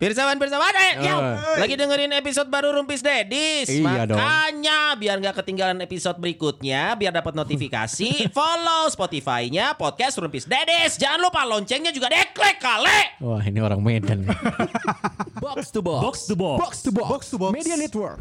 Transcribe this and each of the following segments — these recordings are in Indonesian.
Pirsawan lagi dengerin episode baru Rumpis Dedis. Iya Makanya biar gak ketinggalan episode berikutnya, biar dapat notifikasi, follow Spotify-nya podcast Rumpis Dedis. Jangan lupa loncengnya juga deklik kali. Wah, ini orang Medan. Box to Box. Box to Box. Box to Box. Box to Box. Media Network.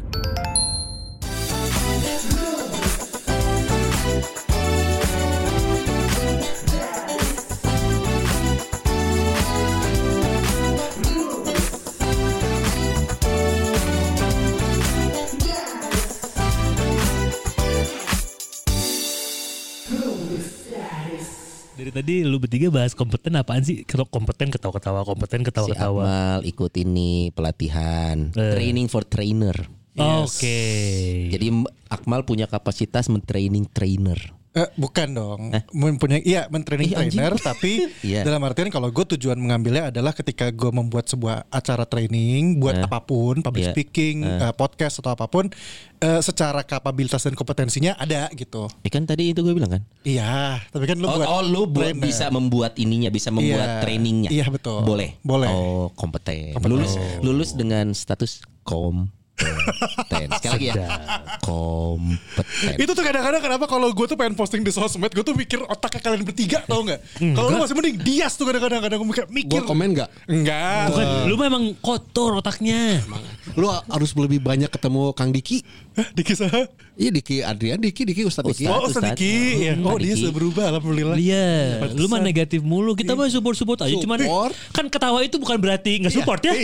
Dari tadi lu bertiga bahas kompeten apaan sih? Kompeten ketawa-ketawa, kompeten ketawa-ketawa. Si Akmal ikut ini pelatihan training for trainer. Oke. Jadi Akmal punya kapasitas mentraining trainer. Bukan dong, mentraining trainer, tapi dalam artian kalau gue tujuan mengambilnya adalah ketika gue membuat sebuah acara training buat apapun, public speaking, podcast atau apapun, secara kapabilitas dan kompetensinya ada gitu. Kan tadi itu gue bilang kan? Iya, tapi kan lu bisa membuat ininya, bisa membuat trainingnya. Iya betul. Boleh. Oh, kompeten. Lulus dengan status sekali lagi ya, kompeten. Itu tuh kadang-kadang kenapa kalau gue tuh pengen posting di sosmed, gue tuh mikir otaknya kalian bertiga, tau nggak? Kalau lu masih mending Dias tuh kadang-kadang gue mikir. Gue komen nggak? Enggak. Lu memang kotor otaknya. Lu harus lebih banyak ketemu Kang Diki. Diki sah? Iya, Diki Adrian, Diki Ustadz Diki. Oh, Ustadz Diki. Oh, dia sudah berubah, alhamdulillah. Iya, lu mah negatif mulu. Kita mah support aja. Cuman kan ketawa itu bukan berarti nggak support ya.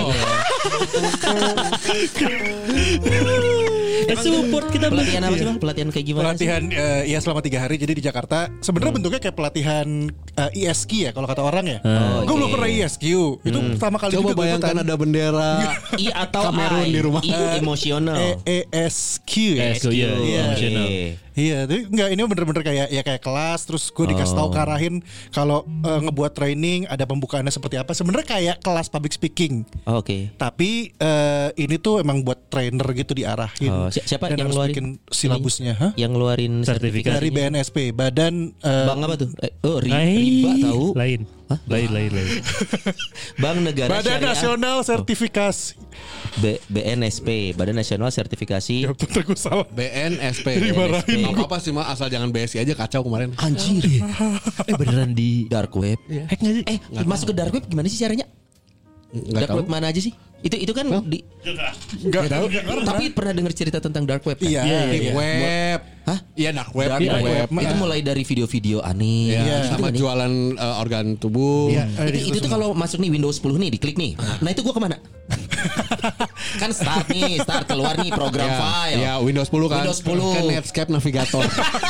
Support kita. Pelatihan apa sih Bang? Pelatihan kayak gimana? Pelatihan ya selama 3 hari. Jadi di Jakarta sebenarnya bentuknya kayak pelatihan ISQ ya kalau kata orang ya. Gue belum pernah ISQ. Itu pertama kali coba juga bayangkan ada bendera atau Kamerun di rumah. Emosional. ESQ ya. Emosional. Iya, tapi enggak, ini bener-bener kayak kelas. Terus gue dikasih tahu karahin kalau ngebuat training ada pembukaannya seperti apa. Sebenarnya kayak kelas public speaking. Oke. Tapi ini tuh emang buat trainer gitu diarahin. Siapa dan yang harus ngeluarin bikin silabusnya? Yang ngeluarin sertifikat dari BNSP, Badan Bang apa tuh? Riba tahu. Lain. Lain. Bank Negara Badan Syariah. Nasional Sertifikasi. BNSP, Badan Nasional Sertifikasi. Ya betul, gue salah. BNSP. Dimarahin. Gak apa-apa sih asal jangan BSI aja, kacau kemarin. Anjir. Beneran di dark web. hack nggak sih? Masuk ke dark web gimana sih caranya? Dark web mana aja sih? Itu kan di Enggak tahu. Tapi pernah dengar cerita tentang dark web kan? Iya. Deep web. Hah? Iya, dark web. Dark web. Itu mulai dari video-video aneh. Sama jualan organ tubuh. Itu tuh kalau masuk nih Windows 10 nih, diklik nih. Nah itu gua kemana? Kan start keluar nih program file. Ya Windows 10 kan. Windows 10. Kan Netscape Navigator.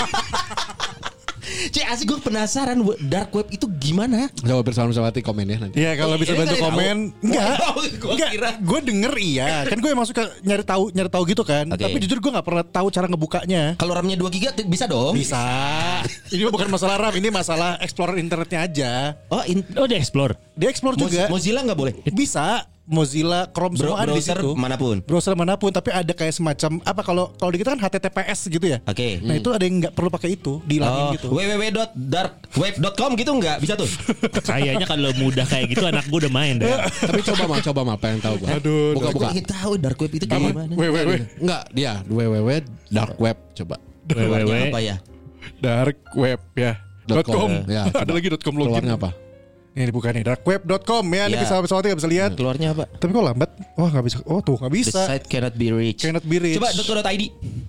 Asik, gue penasaran dark web itu gimana? Coba bersama-sama komen ya nanti. Iya, kalau bisa bantu komen. Enggak. Gue denger iya. Kan gue emang suka nyari tahu gitu kan. Tapi jujur gue nggak pernah tahu cara ngebukanya. Kalau RAM-nya 2 GB bisa dong. Bisa. Ini bukan masalah RAM, ini masalah explorer internetnya aja. Dia explore. Dia explore juga. Mozilla nggak boleh? Bisa. Mozilla, Chrome semua ada di situ. Browser manapun, tapi ada kayak semacam apa kalau di kita kan HTTPS gitu ya. Oke. Nah, itu ada yang nggak perlu pakai itu, dihilangin gitu. www.darkweb.com gitu nggak bisa tuh. Kayaknya kalau mudah kayak gitu anak gue udah main deh. Tapi coba mal pengen tahu gue. Aduh. Buka. Kita tahu dark web itu gimana? Enggak, dia www.darkweb coba. www apa ya? Darkweb ya. .com. Ya, ada lagi .com login. Keluarnya apa? Ini dibuka nih darkweb.com ya. Ini bisa nggak bisa lihat. Keluarnya apa? Tapi kok lambat? Wah, nggak bisa. Oh tuh nggak bisa. The site cannot be reached. Coba .co.id.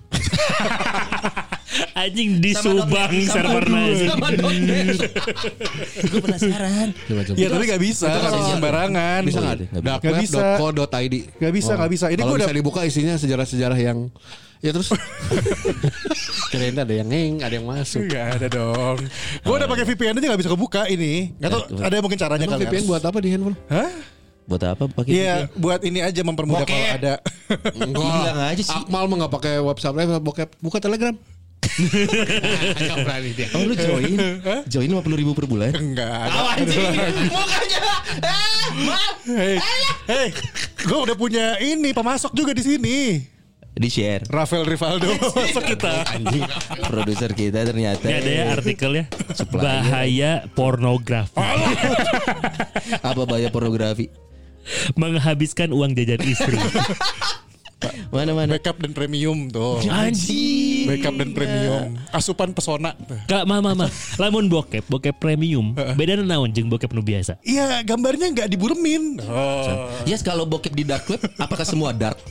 Anjing di Subang servernya. Gue penasaran. Coba. Ya tapi nggak bisa. Nggak bisa sembarangan. Bisa nggak? Darkweb.co.id. Nggak bisa. Ini kalau gue bisa dibuka isinya sejarah-sejarah yang ya terus kirain ada yang ada yang masuk. Gak ada dong. Gue udah pakai VPN aja gak bisa kebuka ini. Gak tau ada mungkin caranya kali. VPN buat apa di handphone? Hah? Buat apa pakai VPN? Iya, buat ini aja mempermudah kalau ada. Bilang aja sih. Akmal mah gak pakai website live, buka Telegram. Gak berani dia. Oh lu join 50.000 per bulan? Enggak. Anjing. Mukanya. Hey, gue udah punya ini pemasok juga di sini. Di share. Rafael Rivaldo masuk kita. Anjing. Produser kita ternyata. Ini ada ya artikelnya. Bahaya pornografi. Apa bahaya pornografi? Menghabiskan uang jajan istri. Mana? Backup dan premium tuh. Anjing. Backup dan premium. Asupan pesona. Kak mama. Lamun bokep premium. Beda naon jeung bokep nu biasa. Iya, gambarnya nggak diburemin. Yes, kalau bokep di dark web, apakah semua dark?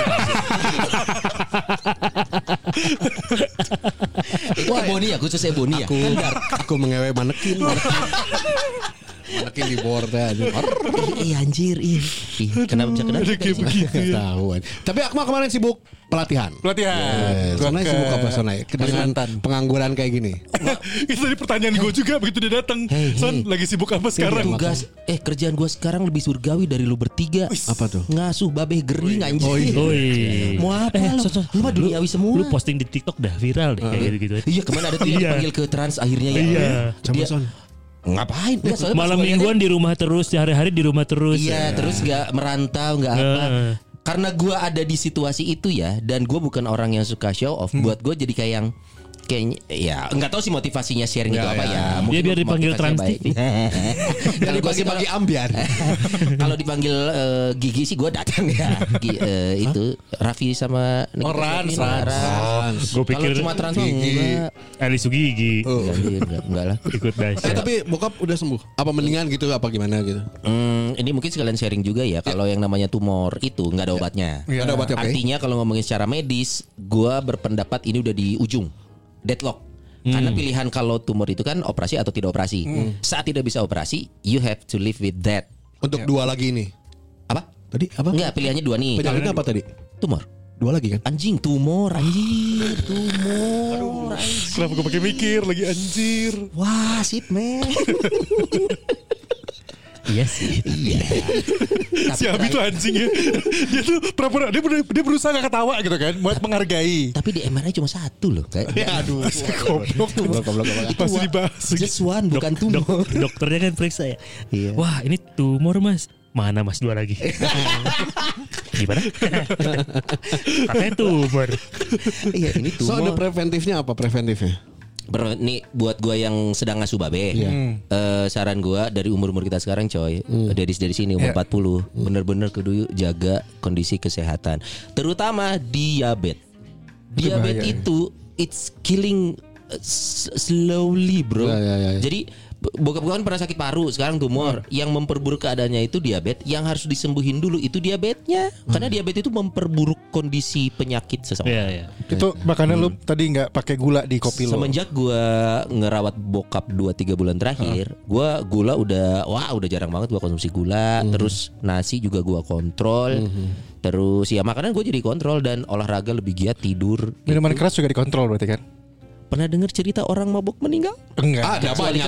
Itu Ebony ya, khusus Ebony ya. Aku mengewe manekin. Manekin di board aja. Anjir, kenapa bisa kenapa? Tahuan. Tapi Akmal kemarin sibuk pelatihan. Sana sibuk apa sana? Dengan pengangguran kayak gini. Itu tadi pertanyaan gue juga begitu dia datang. Son, lagi sibuk apa sekarang? Tugas kerjaan gue sekarang lebih surgawi dari lu bertiga. Apa tuh? Ngasuh babeh gering anjir. Oi. Mau apa lu? Lu mah duniawi semua. Lu posting di TikTok dah viral deh kayak gitu-gitu. Iya, kemana ada tuh yang dipanggil ke trans akhirnya ya. Iya. Coba Son. Ngapain? Malam mingguan di rumah terus, hari-hari di rumah terus. Iya, terus gak merantau, gak apa. Karena gue ada di situasi itu ya, dan gue bukan orang yang suka show off. Buat gue jadi kayak yang kayaknya ya nggak tahu sih motivasinya sharing itu apa ya. Dia biar dipanggil Trans TV. Kalau gue sih bagi ambiar. Kalau dipanggil Gigi sih gue datang ya. Itu Raffi sama Rans. Gue pikir cuma Trans enggak. Ali Sugigi. Enggak lah. Ikut dahsyat. Tapi bokap udah sembuh. Apa mendingan gitu apa gimana gitu? Ini mungkin sekalian sharing juga ya. Kalau yang namanya tumor itu nggak ada obatnya. Nggak ada obatnya. Artinya kalau ngomongin secara medis, gue berpendapat ini udah di ujung. Deadlock. Karena pilihan kalau tumor itu kan operasi atau tidak operasi. Saat tidak bisa operasi, you have to live with that. Untuk dua lagi ini. Apa? Tadi apa? Enggak, pilihannya dua nih. Penyakitnya apa tadi? Tumor. Dua lagi kan? Anjing, tumor, anjir, tumor. Anjir. Kenapa gue pakai mikir lagi anjir? Wah, shit man. Iya sih. Iya. Si Abi tuh anjingnya. Dia tuh pura-pura dia berusaha gak ketawa gitu kan, buat menghargai. Tapi di MRI cuma satu loh. Ya aduh. Goblok. Masih dibahas. Just one, bukan tumor. Dokternya kan periksa ya. Iya. Wah, ini tumor Mas. Mana Mas dua lagi? Gimana? Katanya tumor. Iya, ini tumor. So ada preventifnya apa preventifnya? Nih buat gue yang sedang ngasuh babe, saran gue dari umur kita sekarang coy, dari sini umur 40, bener-bener kudu jaga kondisi kesehatan, terutama diabetes. Diabetes itu it's killing slowly bro. Jadi bokap gue kan pernah sakit paru, sekarang tumor. Yang memperburuk keadaannya itu diabetes. Yang harus disembuhin dulu itu diabetesnya. Karena diabetes itu memperburuk kondisi penyakit seseorang. Itu makanya lu tadi nggak pakai gula di kopi lu. Semenjak gue ngerawat bokap 2-3 bulan terakhir, gue gula udah jarang banget gue konsumsi gula. Terus nasi juga gue kontrol. Terus ya makanan gue jadi kontrol dan olahraga lebih giat, tidur. Minuman keras juga dikontrol berarti kan? Pernah dengar cerita orang mabuk meninggal? Enggak. Ada banyak.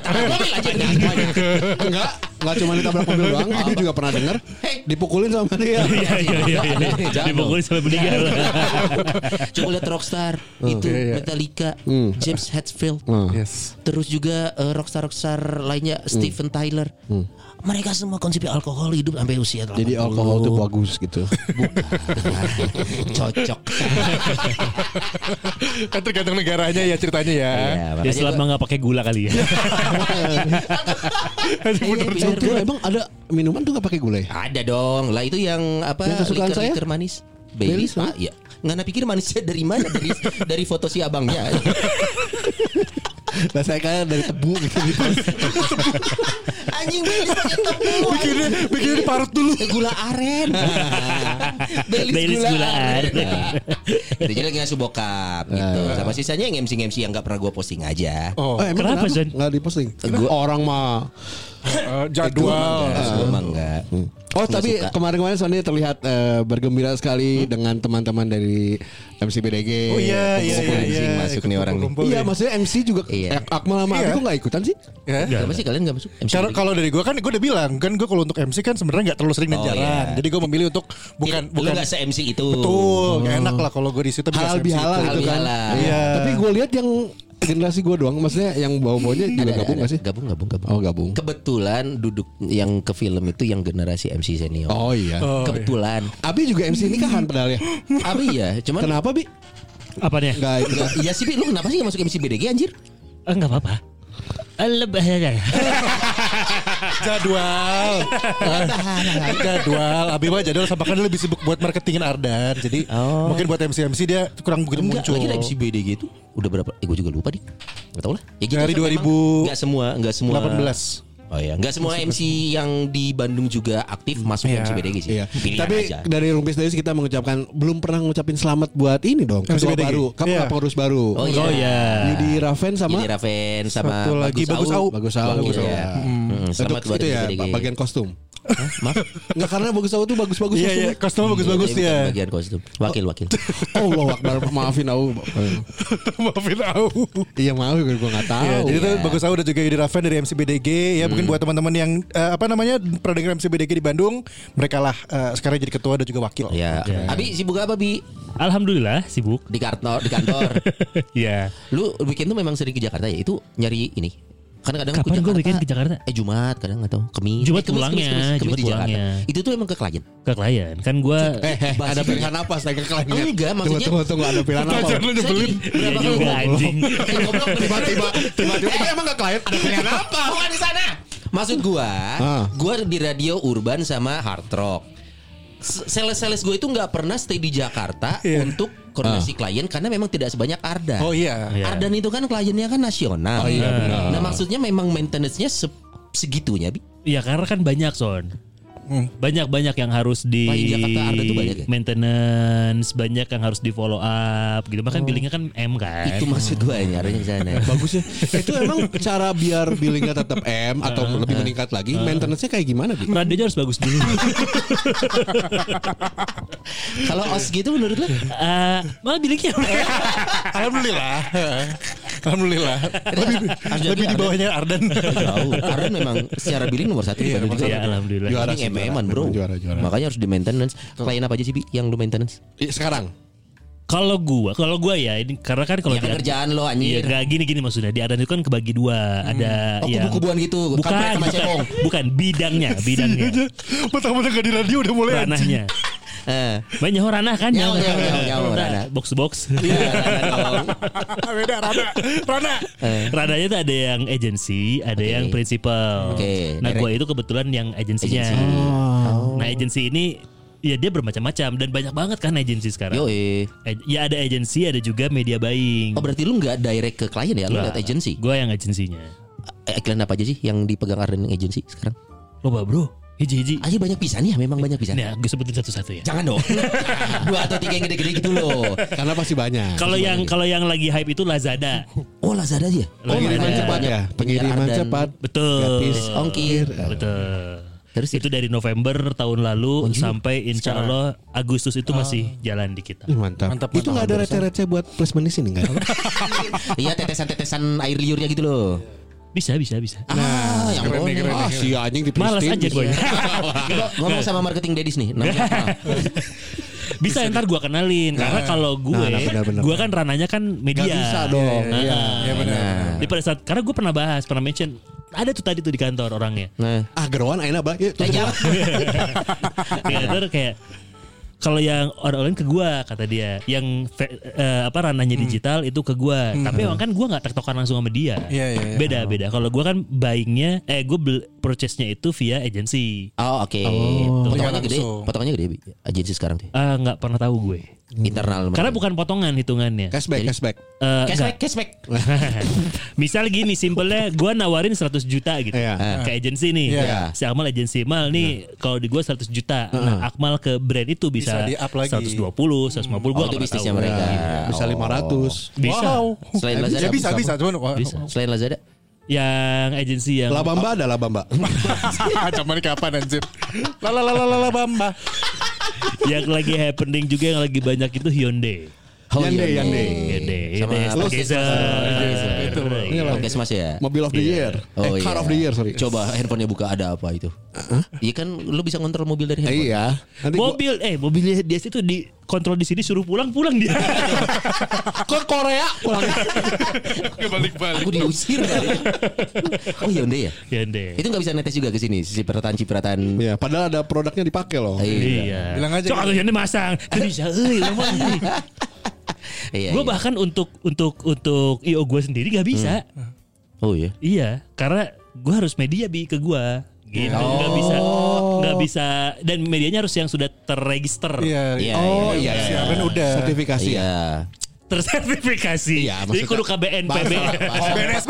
Enggak cuma ditabrak mobil doang. Dia juga pernah dengar dipukulin sama dia. Iya. Dipukulin sampai meninggal. Coba lihat Rockstar itu Metallica, James Hetfield. Yes. Terus juga rockstar lainnya Steven Tyler. Mereka semua konsumsi alkohol hidup sampai usia 80. Jadi alkohol itu bagus gitu. Cocok. Kan tergantung negaranya ya ceritanya ya. Ya selama nggak pakai gula kali ya. Emang ada minuman tuh nggak pakai gula ya? Ada dong. Lah itu yang apa? Yang kesukaan saya? Liker manis. Baileys Pak. Ya. Nggak pikir manisnya dari mana? Dari foto si abangnya. Nah saya kayak dari tebu gitu. Anjing Baileys pakai tebu. Bikinnya diparut dulu. Gula aren. Baileys gula aren. Itu jadi lagi ngasuh bokap gitu. Sama sisanya yang MC yang nggak pernah gue posting aja. Emang Kenapa Zon? nggak diposting? Orang mah jadwal. Gue mah enggak. Tapi kemarin Sony terlihat bergembira sekali dengan teman-teman dari MC BDG. Oh iya. Masuk nih orang nih. Iya maksudnya MC juga. Akmal sama Abi kok nggak ikutan sih? Kenapa sih kalian nggak masuk? Kalau dari gue kan gue udah bilang kan gue kalau untuk MC kan sebenarnya nggak terlalu sering dan jarang. Jadi gue memilih untuk bukan nggak se-MC itu. Betul, gak enak lah kalau gue di situ halal bihalal gitu kan. Iya. Tapi gue lihat yang generasi gue doang, maksudnya yang bawah-bawahnya juga gabung nggak sih? Gabung. Oh gabung. Kebetulan duduk yang ke film itu yang generasi MC senior. Oh iya. Kebetulan. Abi juga MC nikahan padahal ya. Abi ya, cuman kenapa Bi? Apanya? Enggak. Iya sih Bi, lu kenapa sih gak masuk MC BDG anjir? Enggak apa-apa. Lebih Jadwal. Abi mah jadwal sama kan lebih sibuk buat marketingin Ardan. Jadi mungkin buat MC dia kurang begitu muncul. Lagi MC BDG itu udah berapa? Gue juga lupa nih. Gak tau lah. Ya gitu dari 2000 Enggak semua 18. Oh ya, nggak semua MC yang di Bandung juga aktif masuk MC BDG sih. Iya. Pilihan Tapi aja. dari Rumpis Days kita mengucapkan belum pernah ngucapin selamat buat ini dong. Ketua BDG. baru, kamu Iya. pengurus baru. Oh iya. Yudi Raven sama Yudi Raven sama satu lagi Bagus Au. Bagus Au. Bagus Au. Iya. Selamat Untuk buat itu ya BDG. bagian kostum. Maaf. Enggak karena Bagus Au tuh bagus-bagus Iya, kostumnya bagus-bagus Bukan ya. Bagian kostum. Wakil. Allah Akbar, maafin Au. Maafin Au. Iya maaf gue enggak tahu. Ya, jadi itu Bagus Au dan juga Yudi Raven dari MC BDG ya mungkin buat teman-teman yang pernah dengar MC BDG di Bandung, mereka lah sekarang jadi ketua dan juga wakil. Ya. Abi sibuk apa Bi? Alhamdulillah sibuk. Di kantor. Iya. Lu weekend tuh memang sering ke Jakarta ya? Itu nyari ini. Kadang-kadang Kapan gue weekend ke Jakarta? Jumat kadang nggak tahu. Kemis. Jumat Kemis pulangnya, Jumat di Jakarta. pulangnya. Itu tuh emang ke klien. Ke klien. Kan gue Ada pilihan apa saya ke klien? Enggak, maksudnya Tunggu ada pilihan apa? Jangan lu nyebelin. Iya juga anjing. Tiba-tiba ini emang enggak klien ada pilihan apa? Bukan di sana. Maksud gua di radio urban sama hard rock. Sales gue itu nggak pernah stay di Jakarta untuk koordinasi klien karena memang tidak sebanyak Ardan. Oh iya. Ardan itu kan kliennya kan nasional. Oh iya benar. Nah maksudnya memang maintenance-nya segitunya Bi. Iya karena kan banyak Son. Banyak yang harus di Klien Jakarta Ardan tuh banyak ya? maintenance, banyak yang harus di follow up gitu. Makanya billingnya kan M kan. Itu maksud gue nyarinya ke sana. Bagus ya. Itu emang cara biar billingnya tetap M atau lebih meningkat lagi, maintenance-nya kayak gimana gitu? Radionya harus bagus dulu. Kalau OS gitu menurut lo? Malah billingnya Alhamdulillah. Lebih di bawahnya Ardan. Jauh. Ardan memang secara billing nomor 1 di Bandung juga. ya alhamdulillah. Juara Ini sih, MM-an bro. Juara. Makanya harus di maintenance. Klien apa aja sih Bi yang lu maintenance? Sekarang Kalau gua ya ini karena kan kalau Ya kan kerjaan lo Iya anjir. nggak gini maksudnya di Ardan itu kan kebagi dua. Ada Oh yang kubu-kubuan gitu. Kampret sama cebong. bukan bidangnya. Mentang-mentang gak di radio udah mulai Ranahnya. Banyak ranah kan Nyawa, ranah. box to box. Beda Rana. Ranahnya tuh ada yang agency, ada yang principal. Oke, Nah, direct. gue itu kebetulan yang agensinya. Nah, agensi ini ya dia bermacam-macam dan banyak banget kan agensi sekarang. Yoi. Ya ada agensi, ada juga media buying. Oh berarti lu nggak direct ke klien ya? Lu lihat agensi. Gue yang agensinya. Iklan apa aja sih yang dipegang Ardan yang agensi sekarang? Loba bro, hiji-hiji. Aja banyak pisan ya, memang banyak pisan. Nah, gue sebutin satu-satu ya. Jangan dong. 2 atau 3 yang gede-gede gitu loh. karena pasti banyak. Kalau yang lagi hype itu Lazada. Oh Lazada aja. Pengiriman Lazada. cepat ya, pengiriman Ardan. cepat. Betul. Gratis Ongkir. Betul. Terus Itu dari November tahun lalu sampai insya Allah Agustus itu masih jalan di kita. Mantap. Itu nggak ada receh-receh buat placement di sini nggak? Iya tetesan-tetesan air liurnya gitu loh. Bisa. Yang boleh. Si anjing di Malas aja gue. Ngomong sama marketing Dedis nih. Namanya apa? Bisa ntar gue kenalin karena kalau gue, benar. gue kan rananya kan media. Nggak bisa dong. Iya. Ya benar. Di pada saat karena gue pernah mention ada tuh tadi tuh di kantor orangnya. Nah. Gerowan aina bah. Yuk, tutup. Di kantor kayak kalau yang orang ke gua kata dia, yang ranahnya digital itu ke gua. Tapi emang kan gua nggak tektokan langsung sama dia. Iya. Beda. Kalau gua kan buyingnya, purchase-nya itu via agency. Oh oke. Potongannya gede Bi. Agensi sekarang tuh. Nggak pernah tahu gue. Internal. Karena bukan potongan hitungannya. Cashback. Cashback. Misal gini simpelnya gue nawarin 100 juta gitu ke agensi nih. Si Akmal agensi Mal nih kalau di gue 100 juta. Nah Akmal ke brand itu bisa di-up lagi. 120, 150 gue itu bisnisnya mereka. Bisa 500. Bisa. Selain Lazada. Bisa. Cuman Selain Lazada. Yang agensi yang Labamba ada Labamba. Cuman kapan anjir. La Bamba. yang lagi happening juga yang lagi banyak itu Hyundai. Hyundai Stargazer. Oke Mas ya. Mobil of the year. Car of the year, sorry. Coba handphonenya buka ada apa itu? Iya kan lu bisa ngontrol mobil dari handphone. Iya. Mobilnya dia itu dikontrol di sini suruh pulang dia. Ke Korea pulang. Balik-balik. Aku diusir kali. Oh Hyundai ya? Hyundai. Itu gak bisa netes juga ke sini cipratan. Iya, padahal ada produknya dipakai loh. Iya. Bilang aja. Cok atau Hyundai masang. Itu bisa. Gue bahkan untuk IO gue sendiri gak bisa. Oh iya. Iya, karena gue harus media ke gue. gitu. Nggak bisa dan medianya harus yang sudah terregister. Iya. Siaran udah sertifikasi tersertifikasi. Iya, jadi kudu KBNPB. BNSP.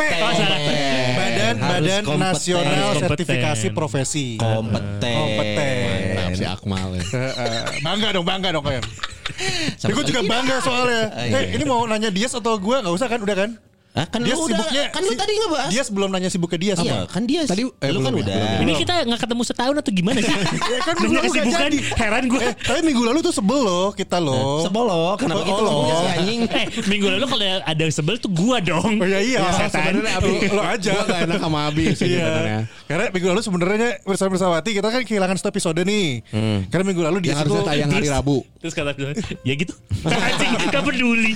Badan Nasional Sertifikasi Profesi. Kompeten. si Akmal ya. Bangga dong kan. Gue juga bangga soalnya. Ini mau nanya Dias atau gue nggak usah kan udah kan? Kan dia lu udah, kan lu tadi ngebahas. Dia belum nanya sibuknya dia Iya, kan dia. Tadi lu kan udah. Ini kita nggak ketemu setahun atau gimana sih? kan Nanya kesibukan, heran gue. Tapi minggu lalu tuh sebel loh kita loh. Sebel loh, kenapa gitu loh anjing? Minggu lalu kalau ada yang sebel tuh gua dong. Oh iya. Sebenarnya Abi lo aja. Gua gak enak sama Abi sih sebenarnya. Karena minggu lalu sebenarnya bersama-bersawati kita kan kehilangan satu episode nih. Karena minggu lalu dia harusnya tayang hari Rabu. Terus kata dia, ya gitu. Anjing, gak peduli.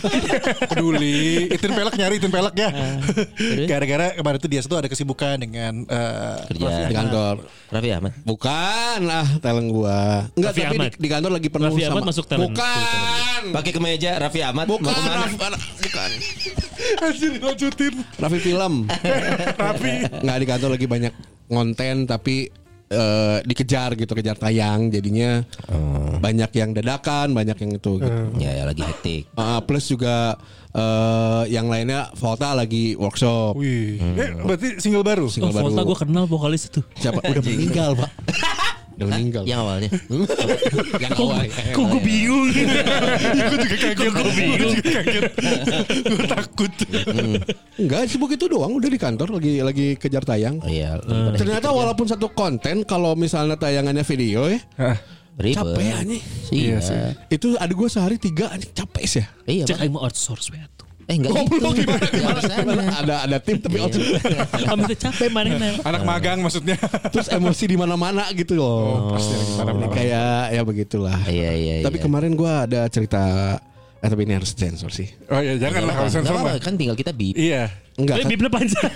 Itin pelek ya. Gara-gara kemarin tuh dia tuh ada kesibukan dengan kerja di kantor. Raffi Ahmad. Bukan talent gua. Enggak, Raffi tapi Ahmad. di kantor lagi penuh Raffi sama. Ahmad masuk talent. Bukan. Pakai kemeja Raffi Ahmad. Bukan. Bukan. Anjir lanjutin. Raffi film. Enggak, di kantor lagi banyak konten tapi dikejar tayang jadinya banyak yang dadakan, banyak yang itu gitu. Ya lagi hektik. Plus juga yang lainnya Volta lagi workshop. Wih. Berarti single baru. Volta gue kenal vokalis itu. Siapa? Udah meninggal, Pak. Udah meninggal. Yang awalnya. Yang awal. Kok gue bingung. Gue juga kaget. Gue bingung. Gue takut. Enggak, sibuk itu doang, udah di kantor lagi kejar tayang. Iya. Ternyata walaupun satu konten kalau misalnya tayangannya video ya. Capek anjing. Iya. Itu ada gue sehari 3 anjing capek sih ya. Iya. Cek aing mau outsource we atuh. Enggak gitu. Ada tim tapi Kami tuh capek mana. Anak magang maksudnya. terus emosi di mana-mana gitu loh. Pasti lagi Kayak ya begitulah. Iya. Tapi kemarin gue ada cerita tapi ini harus sensor sih. Oh iya janganlah kalau sensor mah. Kan tinggal kita bip. Iya. Enggak. Bibnya panjang.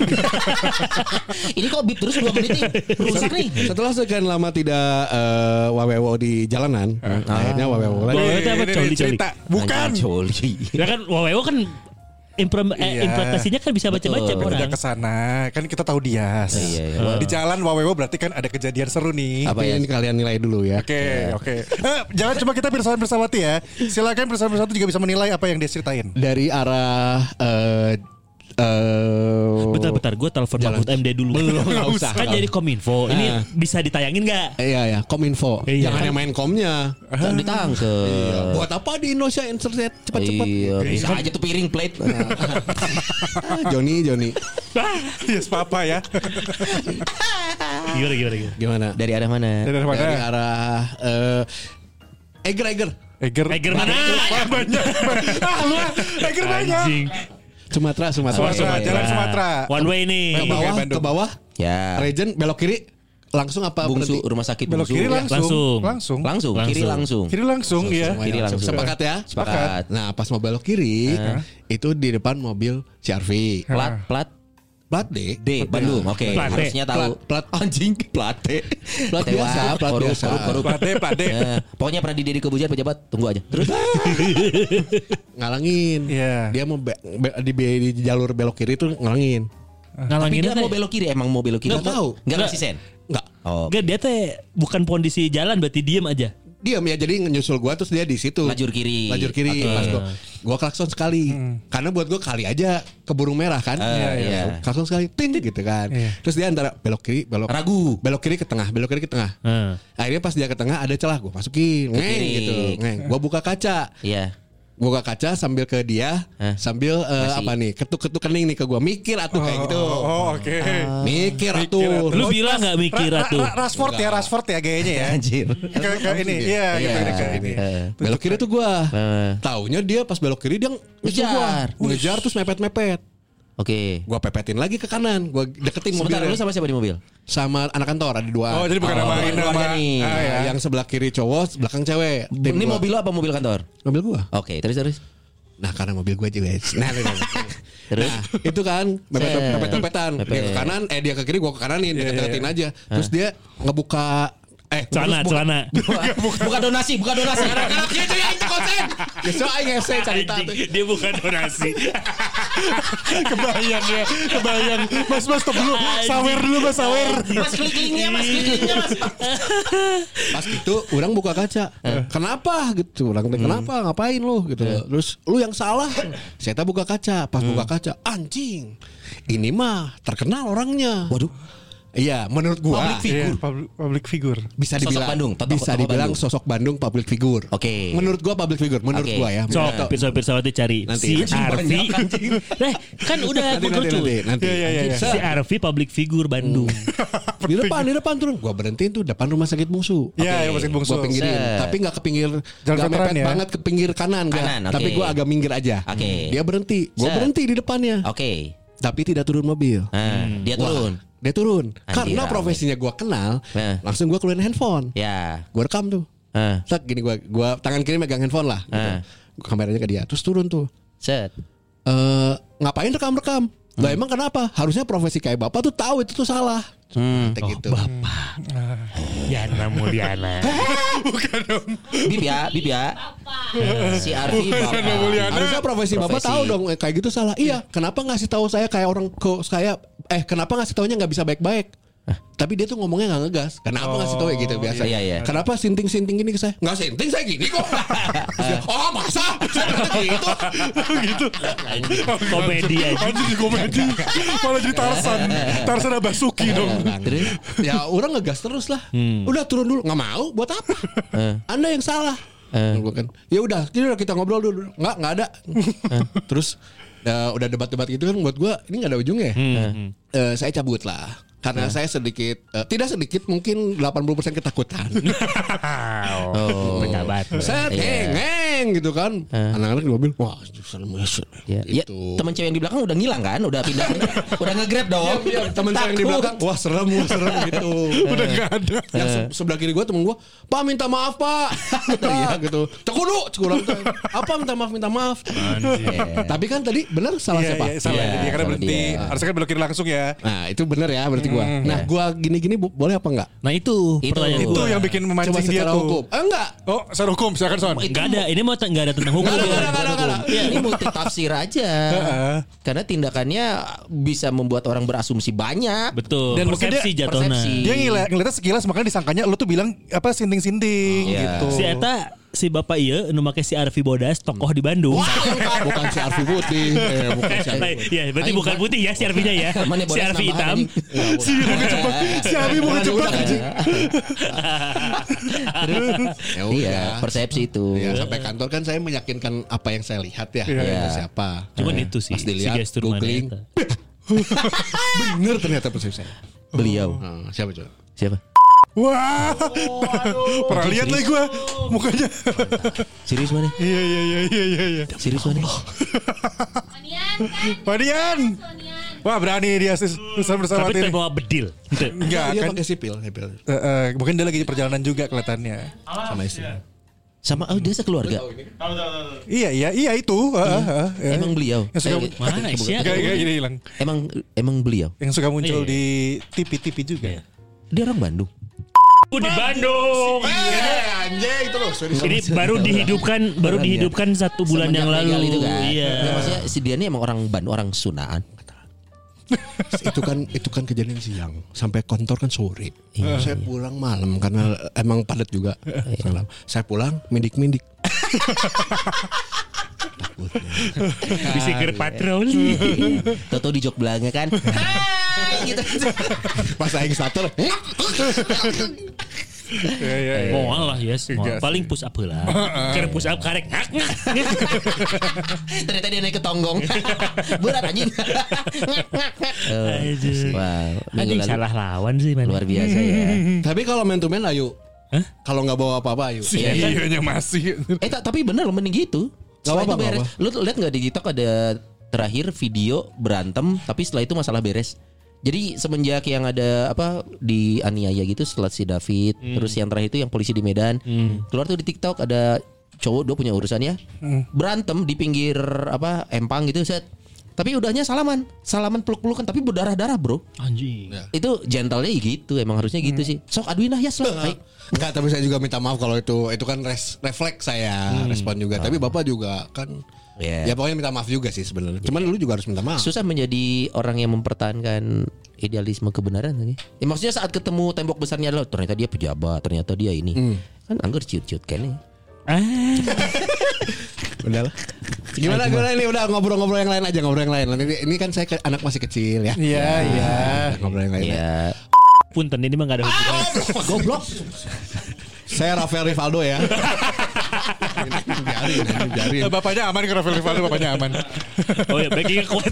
Ini kok bip terus 2 menit nih. Rusak nih. Setelah sekian lama tidak wawewo di jalanan, akhirnya wawewo lagi. Wawewo itu apa? Coli. Bukan. Coli. Ya kan wawewo kan implementasinya kan bisa baca-baca orang. Udah kesana kan kita tahu Dias. Iya. Di jalan wawewo berarti kan ada kejadian seru nih. Apa yang kalian nilai dulu ya? Oke. Jangan cuma kita bersama-bersawati ya. Silakan bersama-bersawati juga bisa menilai apa yang dia ceritain. Dari arah Bentar, gue telepon Mahfud MD dulu. Belum, nggak usah. Kan jadi Kominfo. Ini bisa ditayangin nggak? Iya, Kominfo. Iya. Jangan yang main komnya. Kan ditangkep. Buat apa di Indonesia internet cepat-cepat? Iya, bisa aja tuh piring plate. Joni. Yes papa ya. Gimana? Dari arah mana? Dari arah Eger. Eger mana? Banyak. Eger banyak. Anjing. Sumatera. Jalan Sumatera. One way nih. Ke bawah. Ya. Region belok kiri. Langsung apa? Bungsu berhenti? rumah sakit Belok Bungsu. kiri Langsung. Kiri langsung. Kiri langsung ya. Kiri langsung. Sepakat ya? Sepakat. Nah, pas mau belok kiri, itu di depan mobil CRV. Plat D. Bandung. Oke. Plat D. Harusnya tahu. Plat anjing. Plat D. Plat biasa. Korup. Plat D. Ya, pokoknya pernah di kebujan pejabat, tunggu aja. Terus Ngalangin. Iya. Dia mau di jalur belok kiri itu ngalangin. tapi Ngalangin dia mau belok kiri, emang mau belok kiri. Nggak tahu. Enggak ngasih sen. Enggak. Oh. Enggak, dia teh bukan kondisi jalan, berarti diem aja. Diam ya, jadi nyusul gua terus dia di situ. Lajur kiri. Pas gua klakson sekali. Karena buat gua kali aja keburu merah kan. Iya. Klakson sekali tin gitu kan. Terus dia antara belok kiri, ragu. belok kiri ke tengah. Akhirnya pas dia ke tengah ada celah, gua masukin ngeng gitu. Gua buka kaca. Iya. Buka kaca sambil ke dia, sambil apa nih, ketuk-ketuk kening nih ke gua, mikir atuh kayak gitu. Oke. Mikir atuh. Lu bilang nggak mikir atuh? Rashford ya gayanya ya. Anjir. Kayak ini. Iya, gitu ini. Belok kiri tuh gua. Taunya dia pas belok kiri dia ngejar terus mepet-mepet. Oke. Gua pepetin lagi ke kanan, gua deketin Sebentar, mobilnya. lu sama siapa di mobil? Sama anak kantor ada 2. Oh, jadi bukan nama nih. Yang sebelah kiri cowok, belakang cewek. Tim Ini gua. mobil lu apa mobil kantor? Mobil gua. Oke, terus. Nah, karena mobil gua juga. Terus itu kan mepet-mepetan. Dia ke kanan, dia ke kiri, gua ke kananin, deket-deketin aja. Terus dia ngebuka Celana. Bukan donasi. Anak-anaknya itu yang konsen. Besok aing ngese cerita tuh. Dia bukan donasi. Kebayang. Mas stop dulu. Sawer dulu Mas. Mas klik-kliknya mas. Pas gitu orang buka kaca. Kenapa gitu? Orang tanya kenapa? Ngapain lu gitu. Terus lu yang salah. Saya buka kaca. Pas buka kaca, anjing. Ini mah terkenal orangnya. Waduh. Iya, menurut gua Public figure. bisa dibilang sosok Bandung public figure. Oke. Menurut gua public figure, menurut gua ya. So, pirsa-pirsa cari Nanti. si Arfi. Kan udah mengerucut. Nanti. Si Arfi public figure Bandung. Di depan turun. Gua berhentiin tuh depan rumah sakit Bungsu. Iya, rumah sakit Bungsu. Gua pinggirin, tapi nggak ke pinggir, nggak mepet banget ke pinggir kanan, tapi gua agak minggir aja. Oke. Dia berhenti, gua berhenti di depannya. Oke. Tapi tidak turun mobil. Dia turun. Dia turun. Anjir, Karena profesinya gue kenal, langsung gue keluarin handphone. Ya. Gue rekam tuh. Set gini gue tangan kiri megang handphone lah. Gitu. Kameranya ke dia. Terus turun tuh. Set. Ngapain rekam? Lah emang kenapa? Harusnya profesi kayak bapak tuh tahu itu tuh salah. Gitu. Bapak. Yana Mulyana. Bukan dong. Bib ya. Si Arfi bapak. Harusnya profesi bapak tahu dong kayak gitu salah. Iya. Kenapa ngasih tahu saya kayak orang kenapa ngasih taunya nggak bisa baik-baik? Tapi dia tuh ngomongnya nggak ngegas. Kenapa ngasih tahu ya gitu biasa? Iya. Kenapa sinting gini ke saya? Nggak sinting saya gini kok. Oh masa? Gitu. Komedi aja. Anjir komedi. Malah jadi Tarzan Abasuki dong. Terus? Ya orang ngegas terus lah. Udah turun dulu. Nggak mau. Buat apa? Anda yang salah. Kan. Ya udah kita ngobrol dulu. Nggak ada. Terus udah debat-debat gitu kan buat gue ini nggak ada ujungnya. Saya cabut lah. Karena saya tidak sedikit mungkin 80% ketakutan. Penjabat. Saya tengeng gitu kan. Anak-anak di mobil, wah serem ya. gitu. Ya, teman cewek yang di belakang udah ngilang kan? Udah pindah. Udah nge-grab dong. Teman saya yang di belakang, wah serem gitu. Udah nggak ada. Yang sebelah kiri gue temen gue, Pak minta maaf Pak. Iya gitu. Cekurang. Apa minta maaf. Tapi kan tadi benar salah siapa? Iya, salah dia karena berhenti. Harusnya kan belok kiri langsung ya. Nah itu benar ya berarti gue. Nah gue gini-gini boleh apa enggak? Nah itu pertanyaan Itu gua. yang bikin memancing dia tuh. Hukum. Enggak. Oh secara hukum silakan Son. Enggak ada. Ini mau enggak ada tentang hukum. Enggak. Ya, ini multi tafsir aja. Karena tindakannya bisa membuat orang berasumsi banyak. Betul. Dan persepsi jatuhnya. Dia ngeliatnya sekilas makanya disangkanya lu tuh bilang apa sinting-sinting gitu. Si bapak iya nu make si Arfi Bodas tokoh di Bandung. Bukan si Arfi Putih. Bukan si Arfi. Ya, berarti bukan putih ya si Arfinya ya. Si Arfi hitam. Si Arfi bukan Jepang. Ya udah, persepsi itu. Ya, sampai kantor kan saya meyakinkan apa yang saya lihat ya. Siapa? Cuman itu sih. Pas dilihat, si googling. Bener ternyata persepsi saya. Beliau. Siapa coba? Siapa? Wah, pernah lihat lagi gue mukanya. Serius mana? Iya. Serius mana? Madian. Wah berani dia bersama Tapi ini. bawa bedil. Enggak Dia kan? pakai sipil. Mungkin dia lagi di perjalanan juga kelihatannya. Sama istri. Sama dia sekeluarga. Iya itu. Emang beliau. Yang suka Mana sih? kayak gini hilang. Emang beliau. Yang suka muncul di TV juga. Dia orang Bandung. Di Bandung. Anjay itu loh. Ini baru dihidupkan 1 bulan yang lalu. Itu kan. Iya. Maksudnya si dia ini emang orang Bandung, orang Sunaan. itu kan kejadian siang sampai kantor kan sore. Saya pulang malam karena emang padat juga. Saya pulang mindik. Bisiker patroli. Toto di jok belakangnya kan. Gitu. Pas aing starter. Moal lah yes. Paling push up lah. Karena push up karek. Ternyata dia naik ke tonggong. Berat anjing. Wow. Anjing salah lawan sih man. Luar biasa ya. Tapi kalau main to man ayo. Kalau nggak bawa apa-apa ayo. Iya masih. Tapi bener loh mending gitu. Setelah itu beres. Lu lihat nggak di TikTok ada terakhir video berantem tapi setelah itu masalah beres. Jadi semenjak yang ada di aniaya gitu setelah si David, terus yang terakhir itu yang polisi di Medan, keluar tuh di TikTok ada cowok dia punya urusannya berantem di pinggir empang gitu set. Tapi udahnya salaman peluk-pelukan tapi berdarah-darah bro. Anjing. Itu gentle-nya gitu, emang harusnya gitu sih. Sok aduin lah ya sok. Baik. Enggak, tapi saya juga minta maaf kalau itu kan refleks saya respon juga. Tapi Bapak juga kan ya pokoknya minta maaf juga sih sebenarnya. Cuman lu juga harus minta maaf. Susah menjadi orang yang mempertahankan idealisme kebenaran lagi. Ya, maksudnya saat ketemu tembok besarnya adalah ternyata dia pejabat, ternyata dia ini. Kan anggur ciut-ciut kan nih. Udah lah. Gimana ini udah ngobrol-ngobrol yang lain aja, ngobrol yang lain. Ini kan saya anak masih kecil ya. Iya. Ngobrol yang lain. Ya. Punten ini mah gak ada hubungan. Goblok. Saya Rafael Rivaldo ya. Biarin. Bapaknya aman ke Rafael Rivaldo, bapaknya aman. Oh ya, backingnya kuat.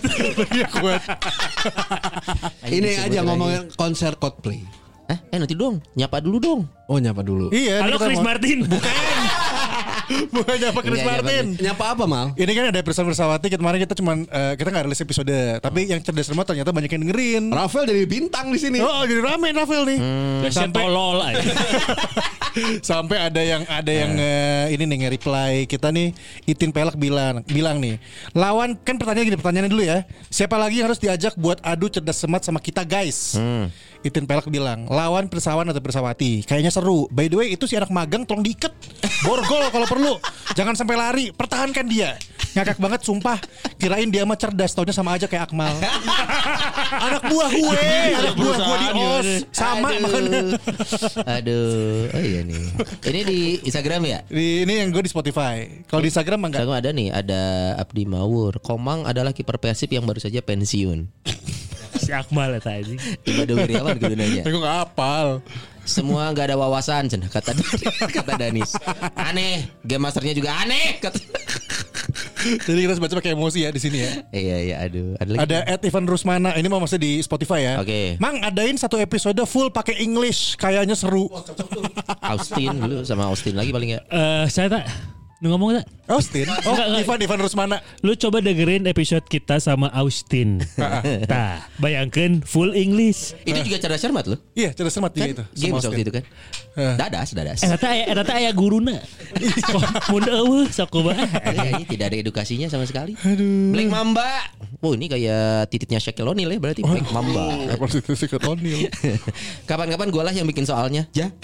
Ini aja ngomongin konser Coldplay. Nanti dong, nyapa dulu dong. Oh, nyapa dulu. Iya. Halo Chris Martin. Bukan nyapa Chris Martin. Nyapa apa Mal? Ini kan ada episode bersawati. Kemarin kita cuman kita nggak rilis episode, tapi yang cerdas remote ternyata banyak yang dengerin. Rafael jadi bintang di sini. Oh, jadi rame Rafael nih. Sampai tolol aja. Sampai ada yang ini nih nge-reply kita nih. Itin Pelak bilang nih, lawan kan pertanyaannya dulu ya. Siapa lagi yang harus diajak buat adu cerdas semat sama kita guys? Itin Pelak bilang, lawan Pirsawan atau Pirsawati. Kayaknya seru. By the way, itu si anak magang tolong diikat. Borgol kalau perlu. Jangan sampai lari. Pertahankan dia. Ngakak banget sumpah. Kirain dia mah cerdas, taunya sama aja kayak Akmal. Anak buah gue di OS. Sama makanya. Aduh. Oh iya nih. Ini di Instagram ya? Ini yang gue di Spotify. Kalau di Instagram enggak. Instagram ada nih, ada Abdi Mawur. Komang adalah kiper Persib yang baru saja pensiun. Si Akmal ya tadi. Ibadah Wiriawan gunanya. Aku gak hafal. Semua nggak ada wawasan, cenah kata Danis. Aneh, game masternya juga aneh. Jadi kita baca pakai emosi ya di sini ya. Iya, aduh. Ada @Ivan Rusmana. Ini mau masih di Spotify ya. Oke. Mang adain satu episode full pakai English, kayaknya seru. Austin dulu sama Austin lagi paling ya. Saya tak ngomong tak? Austin? Oh, Ivan Rusmana. Lu coba dengerin episode kita sama Austin. Tah, bayangkan full English. Itu juga cerdas cermat loh. Iya, cerdas cermat Kan itu. game waktu itu kan. Dadas. Eta aya guruna. Mun eueuh sok coba. Ini tidak ada edukasinya sama sekali. Black Mamba. Oh, ini kayak tititnya Shaquille O'Neal ya berarti. Black Mamba. Kapan-kapan gue lah yang bikin soalnya. Ja.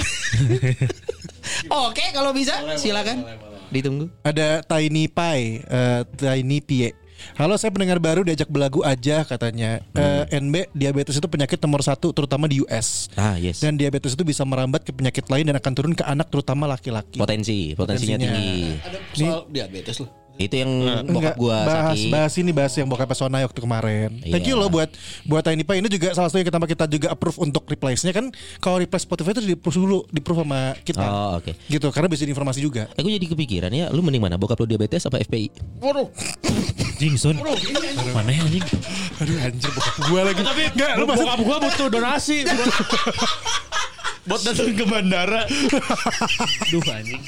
Oke, kalau bisa silakan. Ditunggu. Ada Tiny Pie. Halo, saya pendengar baru diajak belagu aja katanya. NB, diabetes itu penyakit nomor 1 terutama di US. Yes. Dan diabetes itu bisa merambat ke penyakit lain dan akan turun ke anak terutama laki-laki. Potensinya tinggi. Ada soal diabetes loh. Itu yang bokap gua sakit. Bahas yang bokap Sonai waktu kemarin. Thank you loh buat Tiny Pie. Ini juga salah satu yang kita juga approve untuk replace-nya kan. Kalau replace Spotify itu di-approve sama kita. Oh, oke. Gitu, karena bisa informasi juga. Aku jadi kepikiran ya, lu mending mana? Bokap lu diabetes apa FPI? Waduh. Jingson. Mana ya anjing? Aduh anjir, bokap gua lagi. Tapi enggak, lu bokap gua butuh donasi. Buat datang ke bandara. Duh anjing.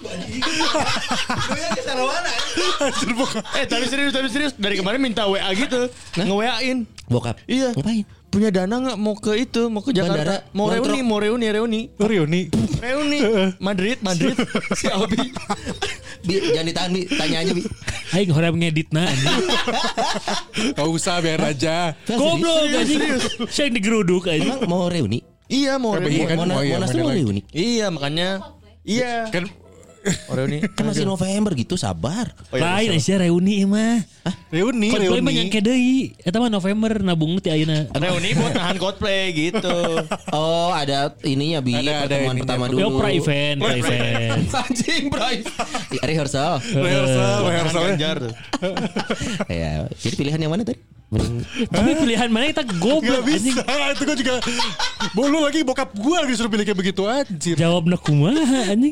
Lu yang ke sana mana? Tapi serius dari kemarin minta WA gitu, nge-WA-in. Bokap. Iya. Ngapain? Punya dana nggak mau ke Jakarta? Bandara. Mau reuni. Madrid. Si Abi. Jangan ditahan, Bi. Tanya aja, Bi. Aing horem ngeditna anjing. Gak usah, biar aja. Goblok anjing. Saya digeruduk anjing. Emang mau reuni? Iya mau reuni. Monas tuh mau reuni. Iya makanya. Iya. Kan reuni. Kan masih November gitu, sabar. Lain Aisyah reuni mah. Reuni. Coldplay mah nyangke deui. Eta mah November nabung ti ayeuna. Reuni buat nahan Coldplay gitu. Oh, ada ininya Bi, pertemuan ininya. pertama dulu. Yo pra-event. Anjing, Bray. Rehearsal. Ganjar. Ya, jadi pilihan yang mana tadi? Tapi pilihan mana kita goblok Gak anjing. bisa. Itu gue juga. Lu lagi bokap gue lagi disuruh pilih kayak begitu anjir. Jawabna kumaha anjing.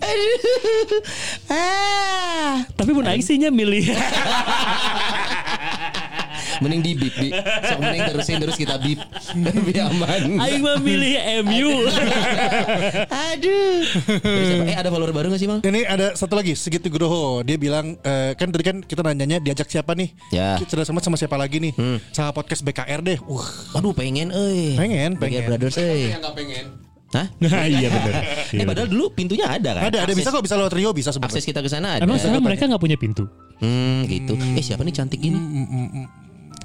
Tapi mun aing sih nya milih. Mending di bip, Bi. Sok mending terusin terus kita bip. Biar aman. Aing mah milih MU. Aduh. Ada follower baru gak sih, Mang? Ini ada satu lagi, Sigit Nugroho. Dia bilang kan tadi kan kita nanyanya diajak siapa nih? Ya. Cerdas sama siapa lagi nih? Sama podcast BKR deh. Aduh, pengen Pengen. BKR Brothers Yang gak pengen. Hah? Iya benar. Padahal dulu pintunya ada kan? Ada bisa kok, bisa lewat Rio bisa sebenarnya. Akses kita ke sana ada. Emang sekarang mereka nggak punya pintu. Gitu. Siapa nih cantik gini?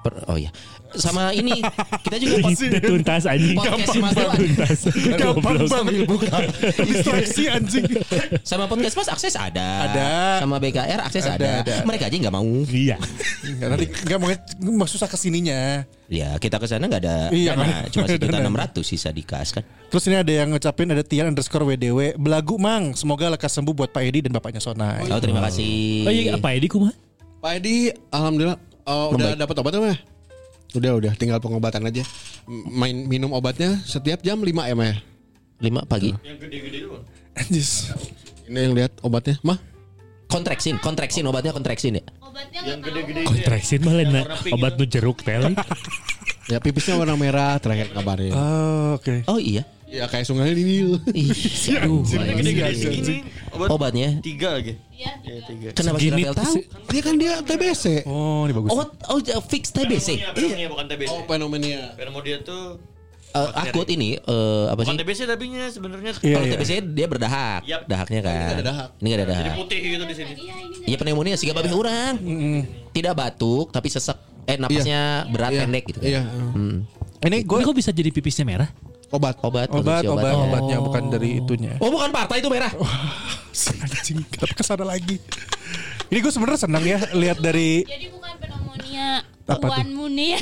Oh iya. Sama ini kita juga tuntas anjing. podcast Mas Dewan. Tuntas. Gampang Goblok. sambil buka. Distraksi anjing. Sama podcast Mas akses ada. Ada. Sama BKR akses ada. Mereka aja nggak mau. Iya. Enggak nanti enggak mau susah kesininya. Ya kita ke sana nggak ada Iya, dana, cuma dana. 1.600 sisa dikas kan. Terus ini ada yang ngecapin ada Tian_WDW belagu mang. Semoga lekas sembuh buat Pak Edi dan bapaknya Sonai. Oh terima kasih. Oh iya apa Edi kumaha? Pak Edi alhamdulillah udah dapat obatnya mah. Udah tinggal pengobatan aja. Minum obatnya setiap jam 5 ya mah. 5 pagi. Anjis. Ini yang lihat obatnya mah. Kontraksin obatnya kontraksin ya. Obatnya yang gede-gede. Kontraksin malah obat nu jeruk teh. Ya pipisnya warna merah terakhir kabarnya. Oh, oke. Oh iya. Ya kayak sungai ini. Aduh, Gede-gede segini. obatnya 3 lagi. Iya. Ya 3. kenapa si Rafael tahu? Dia kan dia TBC. Oh, ini bagus. Fix TBC. Pneumonia bukan TBC. Oh pneumonia. Pneumonia tuh Akut ini apa bukan sih? TBC tapi sebenarnya Iya, Kalau iya. TBC dia berdahak, Yap. dahaknya kan. Ini nggak ada dahak. Ini nggak ada jadi dahak. putih gitu di sini. Iya ini. Iya pneumonia sih babeh orang. Tidak batuk tapi sesek. Napasnya berat Iya. pendek gitu kan. Iya. Ini Gue gue kok bisa jadi pipisnya merah? Obat. obatnya bukan dari itunya. Oh bukan partai itu merah. Anjing, kenapa kesana lagi? Ini gue sebenarnya senang ya lihat dari Jadi bukan pneumonia. Apa tuh? One Moon ya.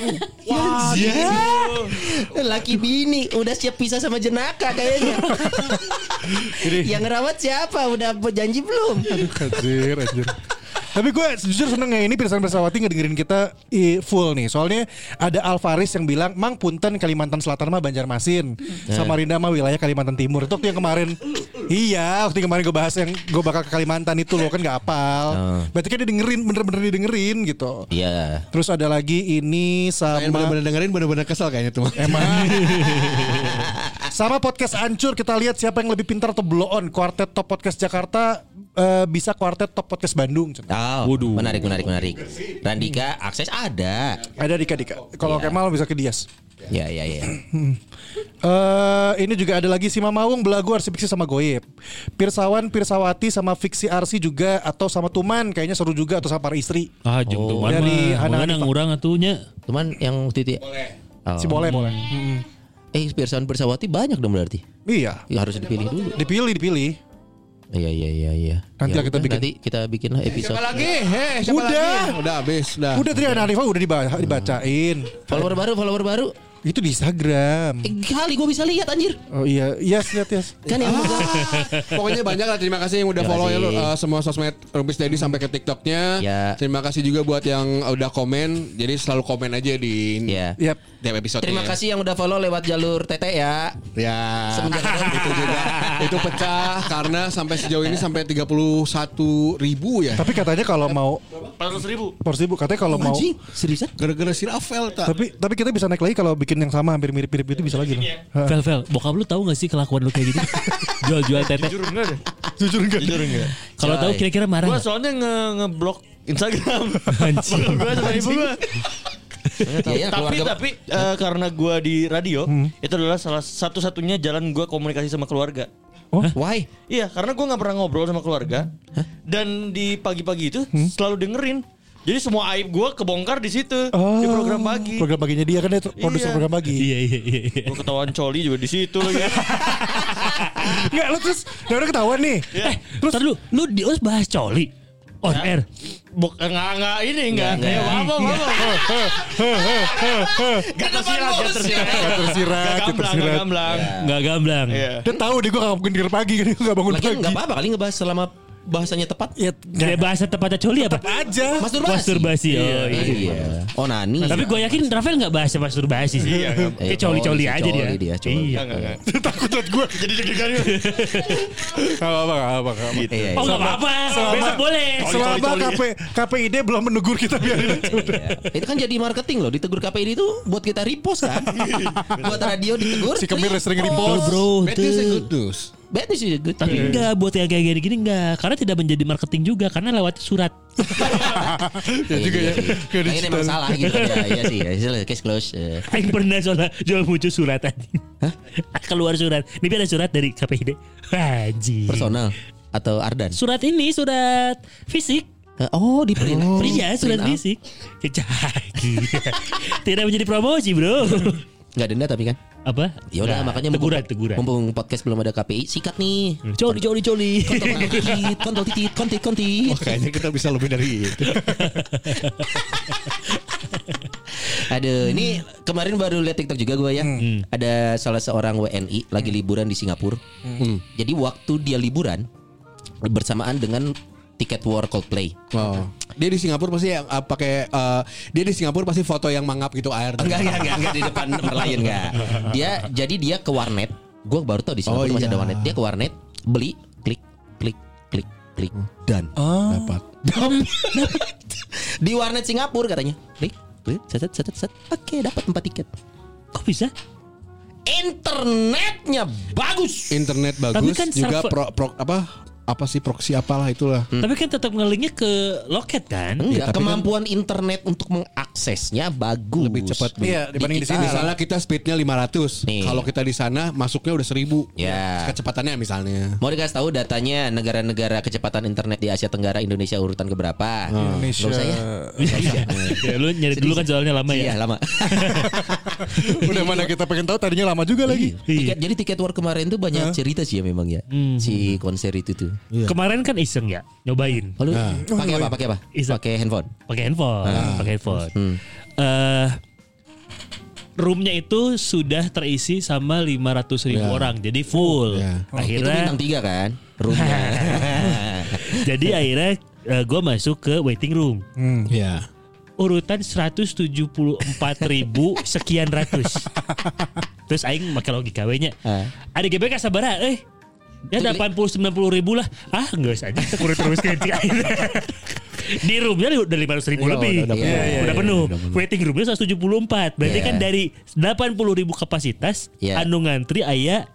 Laki bini udah siap pisah sama jenaka kayaknya. Yang ngerawat siapa? Udah janji belum? Anjir. Tapi gue jujur seneng ya ini Pirsawan Bersawati ngedengerin kita full nih. Soalnya ada Alvaris yang bilang Mang Punten Kalimantan Selatan mah Banjarmasin, Samarinda mah wilayah Kalimantan Timur. Itu waktu yang kemarin. Iya, waktu yang kemarin gue bahas yang gue bakal ke Kalimantan itu loh kan gak apal. Berarti kan dia dengerin, bener-bener didengerin gitu. Iya. Terus ada lagi ini Saya sama bener-bener dengerin bener-bener kesel kayaknya tuh. emang sama podcast Ancur kita lihat siapa yang lebih pintar atau blow on. Kuartet Top Podcast Jakarta bisa kuartet Top Podcast Bandung. Oh, menarik. Randika akses ada. Ada Dika. Kalau Iya. Kemal bisa ke Dias. Ya. Ini juga ada lagi si Mamawung belagu Arsi Fiksi sama Goyep. Pirsawan Pirsawati sama Fiksi Arsi juga atau sama Tuman kayaknya seru juga atau sama para istri. Ah jeung tuh dari Hana mana Hanifah. ngurang atunya. Cuman yang titik. Si boleh. Pirsawan Pirsawati banyak dong berarti. Iya. Ya, harus dipilih dulu. Dipilih. Iya. Nanti lah kita bikin. Nanti kita bikin lah episode. Siapa lagi? Siapa Udah. lagi? Udah habis. Udah tadi Hana Hanifah udah dibacain. Follower baru. Itu di Instagram. Kali gue bisa lihat anjir. Oh iya, lihat. Kan yang Pokoknya banyak lah. Terima kasih yang udah Terima follow ya lu, kasih. semua sosmed Rumpis Daddy sampai ke TikToknya. Ya. Terima kasih juga buat yang udah komen. Jadi selalu komen aja di ya. Yap. tiap episode. Terima kasih yang udah follow lewat jalur TT ya. Ya. Semenjak itu juga itu pecah karena sampai sejauh ini sampai 31.000 ya. Tapi katanya kalau mau 400.000. 400.000 katanya kalau mau Anjing, seriusan? Gara-gara si Rafael tak. tapi kita bisa naik lagi kalau bikin yang sama hampir mirip-mirip itu bisa lagi loh. Vel, bokap lu tahu gak sih kelakuan lu kayak gitu? Jual-jual tete. Jujur enggak deh. Jujur enggak? Kalau tahu kira-kira marah Gue nggak? soalnya ngeblok Instagram. Anjing. Gue sama ibu gue. Iya, Tapi karena gue di radio itu adalah salah satu-satunya jalan gue komunikasi sama keluarga. why? Iya, karena gue nggak pernah ngobrol sama keluarga. Dan di pagi-pagi itu selalu dengerin. Jadi semua aib gue kebongkar di situ di program pagi. Program paginya dia kan dia produser Iya. program pagi. Iya. Gue ketahuan coli juga di situ lagi. Enggak lu terus udah ketahuan nih. Terus lu di OS bahas coli on air. Bukan enggak ini enggak. Enggak. Ya, apa. Gak tersirat. Tersirat. Gamblang. Nggak gamblang. Iya. Dia tahu dia gue gak mungkin tidur pagi kan dia gak bangun Lagian pagi. nggak apa-apa kali ngebahas selama bahasanya tepat. Ya, Kayak bahasa tepatnya coli apa? aja. Masturbasi. Oh iya. Iya. Onani. Tapi gue yakin Rafael nggak bahasa masturbasi sih. Kayak coli-coli aja dia. Coli. Iya. Enggak. Takut liat gue. Jadi deg-degan. Gak apa-apa. Iya. Oh nggak apa-apa. Besok boleh. Selama KPID belum menegur kita biarin aja. Iya. Itu kan jadi marketing loh. Ditegur KPI itu buat kita repost kan. Buat radio ditegur. Si Kemir sering Tuh, repost. bro. Bad news and tuh. good news. Bad news is good. Tapi enggak buat yang kayak gini enggak. Karena tidak menjadi marketing juga. Karena lewat surat. Ya juga ya. Kayak Ini emang salah gitu ya. Iya sih. Case close. Aing pernah soalnya jual muncul surat aja. Keluar surat. Ini ada surat dari KPID. Haji. Personal atau Ardan. Surat ini surat fisik. Oh di print. Iya, surat fisik. Tidak menjadi promosi, Bro. Nggak denda tapi kan? Apa? Ya udah Nggak, makanya teguran. mumpung podcast belum ada KPI, sikat nih. Coli. Kontol titit. Wah, kayaknya kita bisa lebih dari itu. Aduh, ini kemarin baru lihat TikTok juga gue ya. Ada salah seorang WNI lagi liburan di Singapura. Jadi waktu dia liburan bersamaan dengan tiket war Coldplay. Oh. Dia di Singapura pasti dia di Singapura pasti foto yang mangap gitu air. Enggak di depan Merlion enggak. Dia ke warnet. Gue baru tahu di Singapura masih ada warnet. Dia ke warnet, beli, klik dan Dapat. di warnet Singapura katanya. Klik, set. Oke, dapat 4 tiket. Kok bisa? Internetnya bagus. Internet bagus Tapi kan juga server- apa sih proxy apalah itulah. Tapi kan tetap ngelinknya ke loket kan? Enggak, tapi kemampuan internet untuk mengaksesnya bagus. Lebih cepat. Iya, dibanding di sini. Misalnya kita speednya 500. Nih. Kalau kita di sana masuknya udah 1000. Ya. Kecepatannya misalnya. Mau dikasih tahu datanya negara-negara kecepatan internet di Asia Tenggara, Indonesia urutan keberapa? Indonesia. Nggak usah ya. Ya, lu nyari dulu kan soalnya lama ya. Iya lama. Udah mana kita pengen tahu tadinya lama juga lagi. Jadi tiket war kemarin tuh banyak cerita sih ya memang ya. Si konser itu tuh. Kemarin kan iseng ya, nyobain. Lalu pakai apa? Iseng. Pakai handphone. Pakai handphone. Roomnya itu sudah terisi sama 500.000 orang, jadi full. Ya. Itu Akhirnya, bintang 3 kan? Roomnya. jadi akhirnya gue masuk ke waiting room. Iya. Urutan 174.000 sekian ratus. Terus aing make logika we nya. Ada GBK sabaraha ya 80-90 ribu lah. Enggak usah aja kurang terus ke di roomnya udah 500 ribu lebih. Udah penuh. Waiting roomnya 174. Berarti kan dari 80 ribu kapasitas anu ngantri aya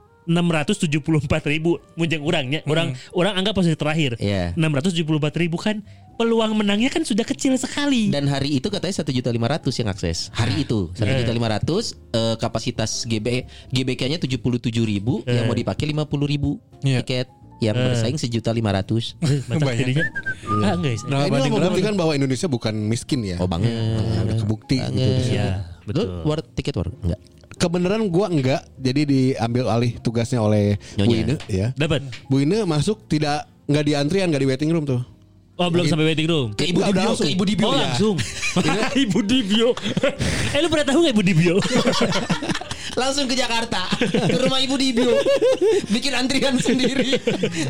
674 ribu munjang orangnya. Orang anggap posisi terakhir. 674 ribu kan peluang menangnya kan sudah kecil sekali. Dan hari itu katanya 1.500.000 yang akses. Hari itu 1.500.000, kapasitas GBK-nya 77.000, yang mau dipakai 50.000 tiket. Yang bersaing 1.500.000. Mantap jadinya. Enggak. Nah, ini membuktikan bahwa Indonesia bukan miskin ya. Oh banget. Udah kebukti gitu. Iya, betul. War tiket war enggak? Kebenaran gua enggak, jadi diambil alih tugasnya oleh Bu Ine ya. Dapat. Bu Ine masuk enggak di antrian, enggak di waiting room tuh. Oh, belum sampai waiting room. Ke Ibu Dibio, ke Ibu Dibio. Oh, langsung. Ibu Dibio. Lu pernah tahu enggak Ibu Dibio? Langsung ke Jakarta, ke rumah Ibu Dibio. Bikin antrian sendiri.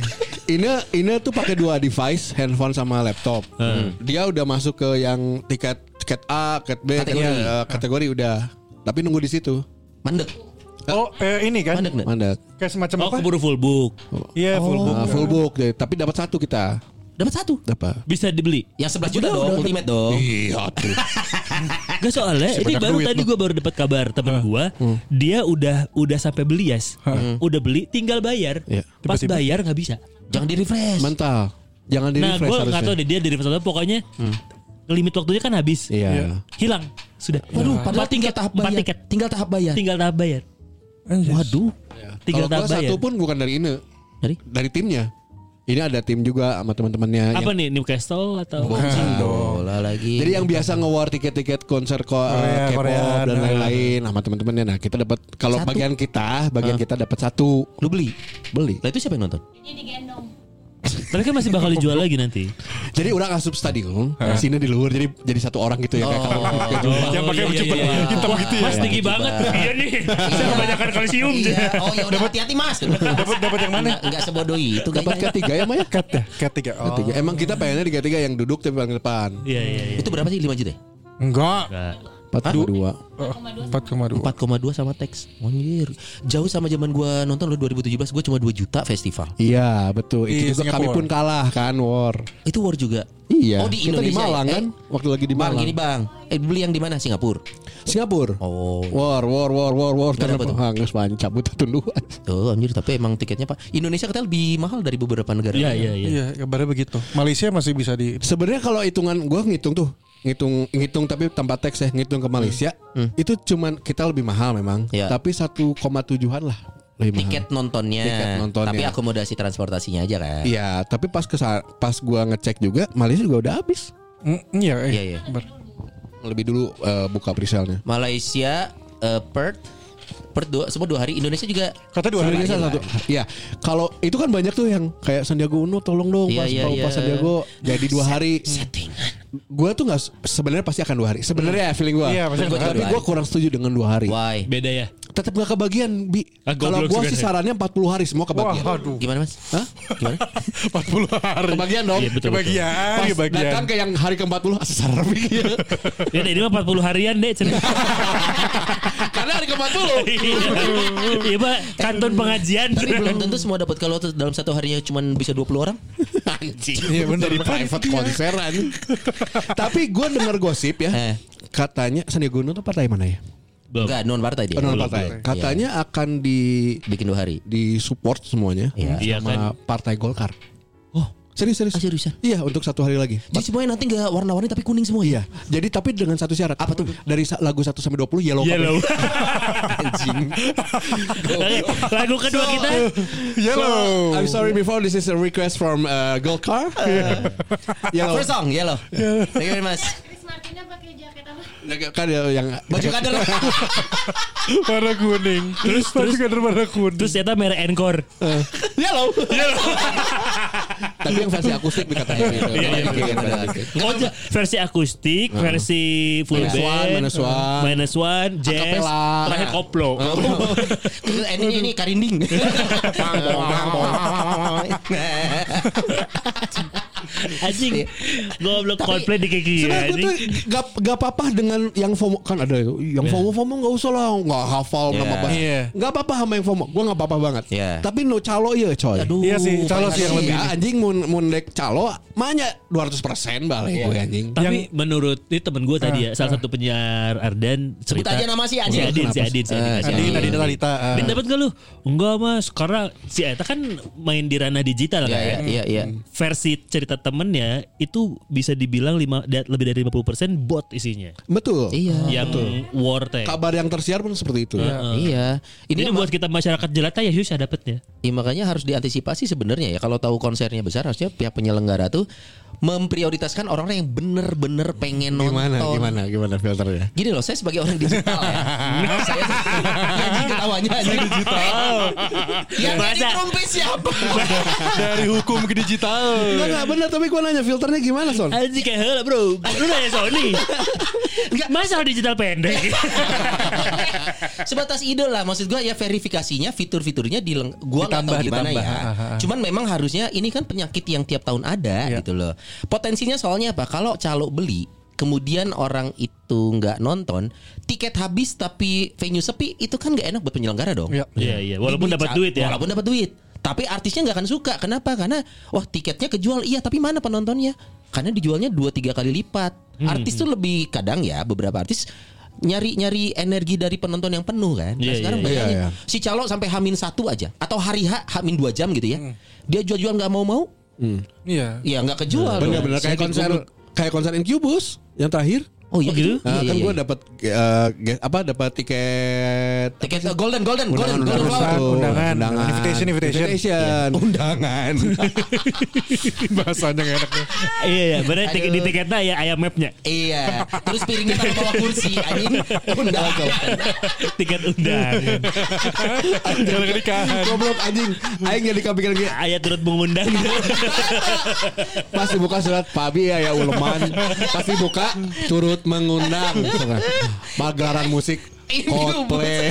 Ine tuh pakai 2 device, handphone sama laptop. Dia udah masuk ke yang tiket A, tiket B, kategori udah. Tapi nunggu di situ. Mandek. Oh, ini kan. Mandek. Kayak semacam apa? Keburu full book. Iya, full book. Full book deh, tapi dapat 1 kita. Dapat 1. Dapat. Bisa dibeli. Yang 11 juta dong, ultimate dong. Iya tuh. Gak soalnya ini baru tadi gue baru dapat kabar teman gue, dia udah sampai beli udah beli tinggal bayar. Pas bayar nggak bisa. Jangan di refresh. Mental. Jangan di Nah refresh gue harusnya. nggak tahu deh dia di refresh atau pokoknya limit waktunya kan habis. Iya. Hilang sudah. Waduh, padahal tinggal tahap bayar. tiket. Tinggal tahap bayar. Tinggal tahap bayar. Waduh. Tinggal Kalau tahap gua bayar. satu pun bukan dari Ine. Dari timnya. Ini ada tim juga sama teman-temannya. Apa nih Newcastle atau? Bola lagi. Jadi yang biasa nge-war tiket-tiket konser Korea, K-pop dan lain-lain sama teman-temannya. Nah, kita dapat kalau bagian kita dapat 1. Lu beli? Beli. Lah itu siapa yang nonton? Ini digendong. Tapi kan masih bakal dijual lagi nanti. Jadi orang asup stadion, sini di luar jadi 1 orang gitu ya kayak kamu. Yang pakai baju hitam gitu ya. Mas tinggi banget. Iya nih. Saya kebanyakan kalsium. Oh ya udah hati-hati Mas. Dapat yang mana? Enggak sebodoh itu Dapat kayaknya. K3 ya Maya? K3. Oh. K3. Emang kita pengennya di K3 yang duduk tapi paling depan. Iya. Itu berapa sih 5 juta ya? Enggak. 4,2. 4,2. 4,2 sama teks. Anjir. Jauh sama zaman gua nonton lo 2017 gua cuma 2 juta festival. Iya, betul. Itu Iya, juga kami Singapura. pun kalah kan war. Itu war juga. Iya. Oh di kita di Indonesia. Malang ya? kan? Waktu lagi di Bang, Malang. gini Bang. Beli yang di mana? Singapura. Singapura. Oh. War. Berapa tuh? Hangus banyak cabut tunduan. Oh anjir, tapi emang tiketnya Pak. Indonesia katanya lebih mahal dari beberapa negara. Iya. Iya, kabarnya begitu. Malaysia masih bisa di. Sebenarnya kalau hitungan gue ngitung tapi tanpa teks ya, ngitung ke Malaysia itu cuman kita lebih mahal memang, Iya. tapi 1,7-an lah Tiket nontonnya. Tapi akomodasi transportasinya aja kan. Iya, tapi pas gua ngecek juga Malaysia juga udah habis. Iya. Lebih dulu buka presale-nya. Malaysia, Perth semua 2 hari. Indonesia juga Kata 2 hari Indonesia satu. Iya, kalau itu kan banyak tuh yang kayak Sandiaga Uno tolong dong pas Sandiaga jadi 2 hari. Settingan. Gue tuh nggak sebenarnya pasti akan 2 hari. Sebenarnya feeling gue. Iya, tapi gue kurang setuju dengan 2 hari. Why? Beda ya. Tetap nggak kebagian, Bi. Kalau gue sih sarannya 40 hari semua kebagian. Gimana Mas? Hah? Gimana? 40 hari. Kebagian dong. Iya, betul. Pas datang ke yang hari ke-40 asal ya. Ya ini mah 40 harian deh. Karena hari ke-40. Iya Pak, kantor pengajian. Tapi belum tentu semua dapat kalau dalam satu harinya cuma bisa 20 orang. Anjing. Iya benar di private konseran. Tapi gue dengar gosip ya. Katanya Sandiaga Uno tuh partai mana ya? Enggak, non partai dia. Non partai. Katanya akan bikin 2 hari. Di support semuanya Iya sama kan? Partai Golkar. Oh, serius. seriusan? Iya, untuk 1 hari lagi. Jadi semuanya nanti enggak warna-warni tapi kuning semua. Iya. Jadi tapi dengan satu syarat. Apa tuh? Dari lagu 1 sampai 20 yellow. Anjing. Lagu kedua kita Yellow. I'm sorry before this is a request from Golkar. Yellow. First song Yellow. Thank you very much. Chris Martinnya pakai jaket apa? Kan yang Baju kader. Warna kuning. Terus kader warna kuning. terus ternyata merek Encore. Yellow. Tapi yang versi akustik dikatakan gitu. Oh, versi akustik, versi full band, minus one, jazz, Acapella. terakhir koplo. Ini karinding. Anjing. Goblok Coldplay di kaki. Sebenarnya gue tuh gak apa-apa dengan yang FOMO. Kan ada yang FOMO gak usah lah. Gak hafal nama bahasa. Gak apa-apa sama yang FOMO. Gue gak apa-apa banget. Tapi no calo ya coy. Iya sih, calo sih yang lebih. Anjing mun dek calo mahnya 200% balik gue anjing. Tapi menurut ini temen gue tadi ya, salah satu penyiar Ardan Sebut cerita. aja nama si Si Adin. Adin. Talita. Bin dapat gak lu? Enggak Mas, karena si Eta kan main di ranah digital kan. Iya. Versi cerita temennya itu bisa dibilang lebih dari 50% bot isinya. Betul. Iya. Yang war teh. Kabar yang tersiar pun seperti itu. Iya. Ini buat kita masyarakat jelata ya susah dapetnya. Ya, makanya harus diantisipasi sebenarnya ya. Kalau tahu konsernya besar harusnya pihak penyelenggara tuh memprioritaskan orang-orang yang bener-bener pengen nonton. Gimana filternya? Gini loh, saya sebagai orang digital ya. Saya anjing ketawanya anjing digital. Yang jadi trompet siapa? Dari hukum ke digital. Enggak benar, tapi gue nanya filternya gimana Son? Anjing kayak heula bro. Lu nanya Sony. Enggak masalah digital pendek. Sebatas ide lah, maksud gue ya verifikasinya fitur-fiturnya gua nggak tahu gimana ya. Cuman memang harusnya ini kan penyakit yang tiap tahun ada gitu loh. Potensinya soalnya apa? Kalau calo beli kemudian orang itu nggak nonton, tiket habis tapi venue sepi, itu kan nggak enak buat penyelenggara dong. Iya. Walaupun dapat duit ya. Walaupun dapat duit. Tapi artisnya nggak akan suka. Kenapa? Karena tiketnya kejual. Iya, tapi mana penontonnya? Karena dijualnya 2-3 kali lipat. Artis tuh lebih kadang ya, beberapa artis nyari energi dari penonton yang penuh kan. Sekarang bayangin si calo sampai H-1 aja atau hari H-2 jam gitu ya. Dia jual nggak mau. Iya. Iya nggak kejual. Bener-bener kayak konser Incubus yang terakhir. Oh iya gitu. Kan gue dapat dapat tiket golden undangan. Invitation. Undangan. Bahasanya enak nih. Iya, benar di tiketnya ya ayam mapnya. Iya. Terus piringnya taruh bawah kursi anjing. Undangan. Tiket undangan. Jalan nikahan. Goblok anjing. Aing jadi kepikiran gitu. Ayat turut mengundang. Pas dibuka surat Pabi ya uleman. Pas dibuka turut mengundang pagelaran musik Coldplay.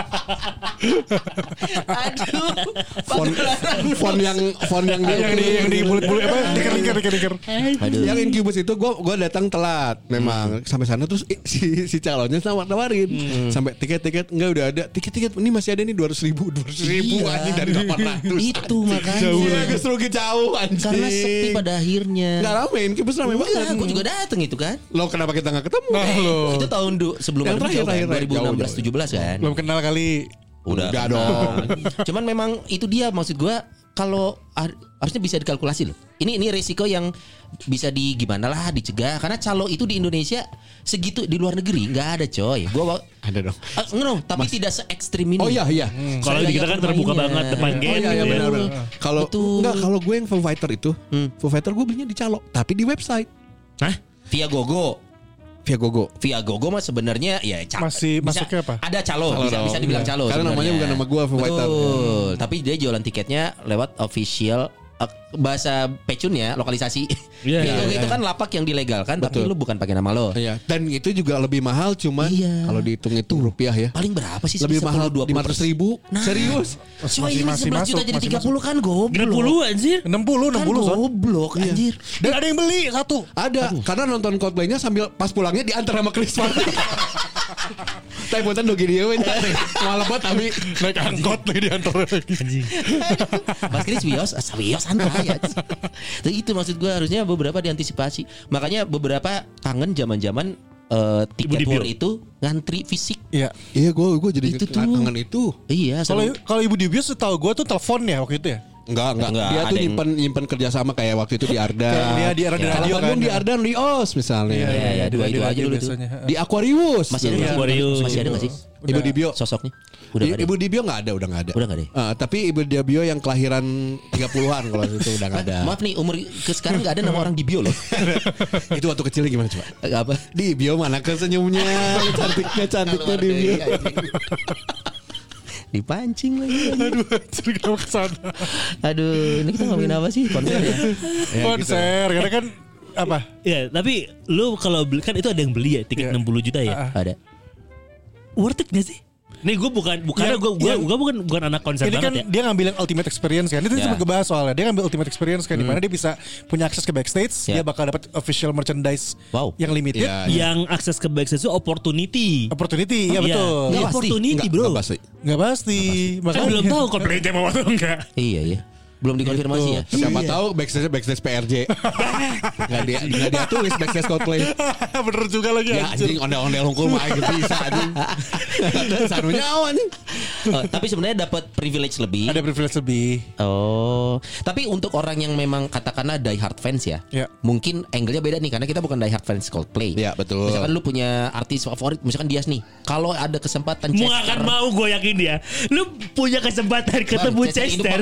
Font yang di bulat-bulat apa? Diker. Yang Incubus itu gue datang telat memang sampai sana terus si calonnya nawarin sampai tiket enggak udah ada tiket ini masih ada nih 200.000 anjing dari 800. Itu makanya jauh anjing. Karena sepi pada akhirnya. Enggak rame, Incubus rame banget. Gue juga datang itu kan. Lo kenapa kita enggak ketemu? Itu tahun sebelum yang terakhir 2016-17 kan. Belum kenal kali. Udah dong. Cuman memang itu dia maksud gue kalau harusnya bisa dikalkulasi loh. Ini resiko yang bisa gimana lah dicegah, karena calo itu di Indonesia segitu, di luar negeri nggak ada coy. Gua ada dong. Tapi tidak se ekstrim ini. Oh iya. Kalau di kita kan terbuka banget depan gate. Oh iya gitu ya. benar. Kalau gue yang Foo Fighter itu, Foo Fighter gue belinya di calo, tapi di website. Hah? Via Gogo mah sebenarnya ya Masih masuknya apa? Ada calo, bisa dibilang calo. Karena namanya bukan nama gue, Foo Fighter. Betul. Tapi dia jualan tiketnya lewat official bahasa pecunnya lokalisasi. Itu kan lapak yang dilegalkan, tapi lu bukan pakai nama lo. Iya. Dan itu juga lebih mahal, cuman kalau dihitung rupiah ya. Paling berapa sih? Lebih mahal 500.000. Serius? Coy, 11 juta jadi 30 kan goblok. 60 anjir. 60 son. Goblok anjir. Dan ada yang beli satu. Ada. Karena nonton Coldplay-nya sambil pas pulangnya diantar sama Chris Martin. Tapi buatan dogi dia malah buat tapi naik angkot lagi diantar lagi. Mas Chris wios santai ya. Itu maksud gue, harusnya beberapa diantisipasi. Makanya beberapa kangen zaman-zaman tiket war itu ngantri fisik. Iya. Iya, gue jadi Itu tuh. kangen itu. Iya. Kalau Ibu Dibius setahu gue tuh telepon ya waktu itu ya. Enggak. Dia Ada tuh yang- nyimpen kerjasama kayak waktu itu di Ardan. Kayak dia di Ardan Kalau Radio Bandung kan. di Ardan di OS misalnya. Iya, dua itu aja dulu tuh. biasanya. Di Aquarius. Masih ada Iya. nggak? Aquarius. Masih ada nggak sih Ibu Dibio. sosoknya? Udah nggak ada. Ibu Dibio udah nggak ada. Udah nggak ada. Tapi Ibu Dibio yang kelahiran 30-an kalau itu udah nggak ada. Maaf nih, umur ke sekarang nggak ada nama orang di bio loh. Itu waktu kecilnya gimana coba? Apa? Di bio mana kesenyumnya, cantiknya di bio. Dipancing lagi. Aduh, anjir kenapa kesana? Aduh, ini kita ngomongin apa sih? Konser ya? Konser, karena kan apa? Ya, tapi lu kalau beli kan itu ada yang beli ya tiket 60 juta ya. Ada. Worth it gak sih? Nih gue bukan gue bukan anak konser Ini kan banget ya. dia ngambil yang ultimate experience kan. Itu sempat ngebahas soalnya. Dia ngambil ultimate experience kan, di mana dia bisa punya akses ke backstage, dia bakal dapat official merchandise yang limited. Iya. Yang akses ke backstage itu opportunity. Opportunity, ya Iya. betul. Ini Nggak pasti. opportunity bro. Nggak pasti. Nggak pasti. Kan belum tahu Coldplay mau atau enggak. Iya. Belum dikonfirmasi ya. Siapa tahu backstage PRJ. Nggak dia tulis backstage Coldplay. Bener juga lagi Ya anjing ondel-ondel hungkul mah gitu bisa anjing. Sanunya awan nih. Tapi sebenarnya dapat privilege lebih. Ada privilege lebih. Oh, tapi untuk orang yang memang katakanlah die hard fans ya, mungkin angle-nya beda nih karena kita bukan die hard fans Coldplay. Iya betul. Misalkan lu punya artis favorit, misalkan Dias nih, kalau ada kesempatan Mau akan mau gue yakin dia. Lu punya kesempatan ketemu Chester.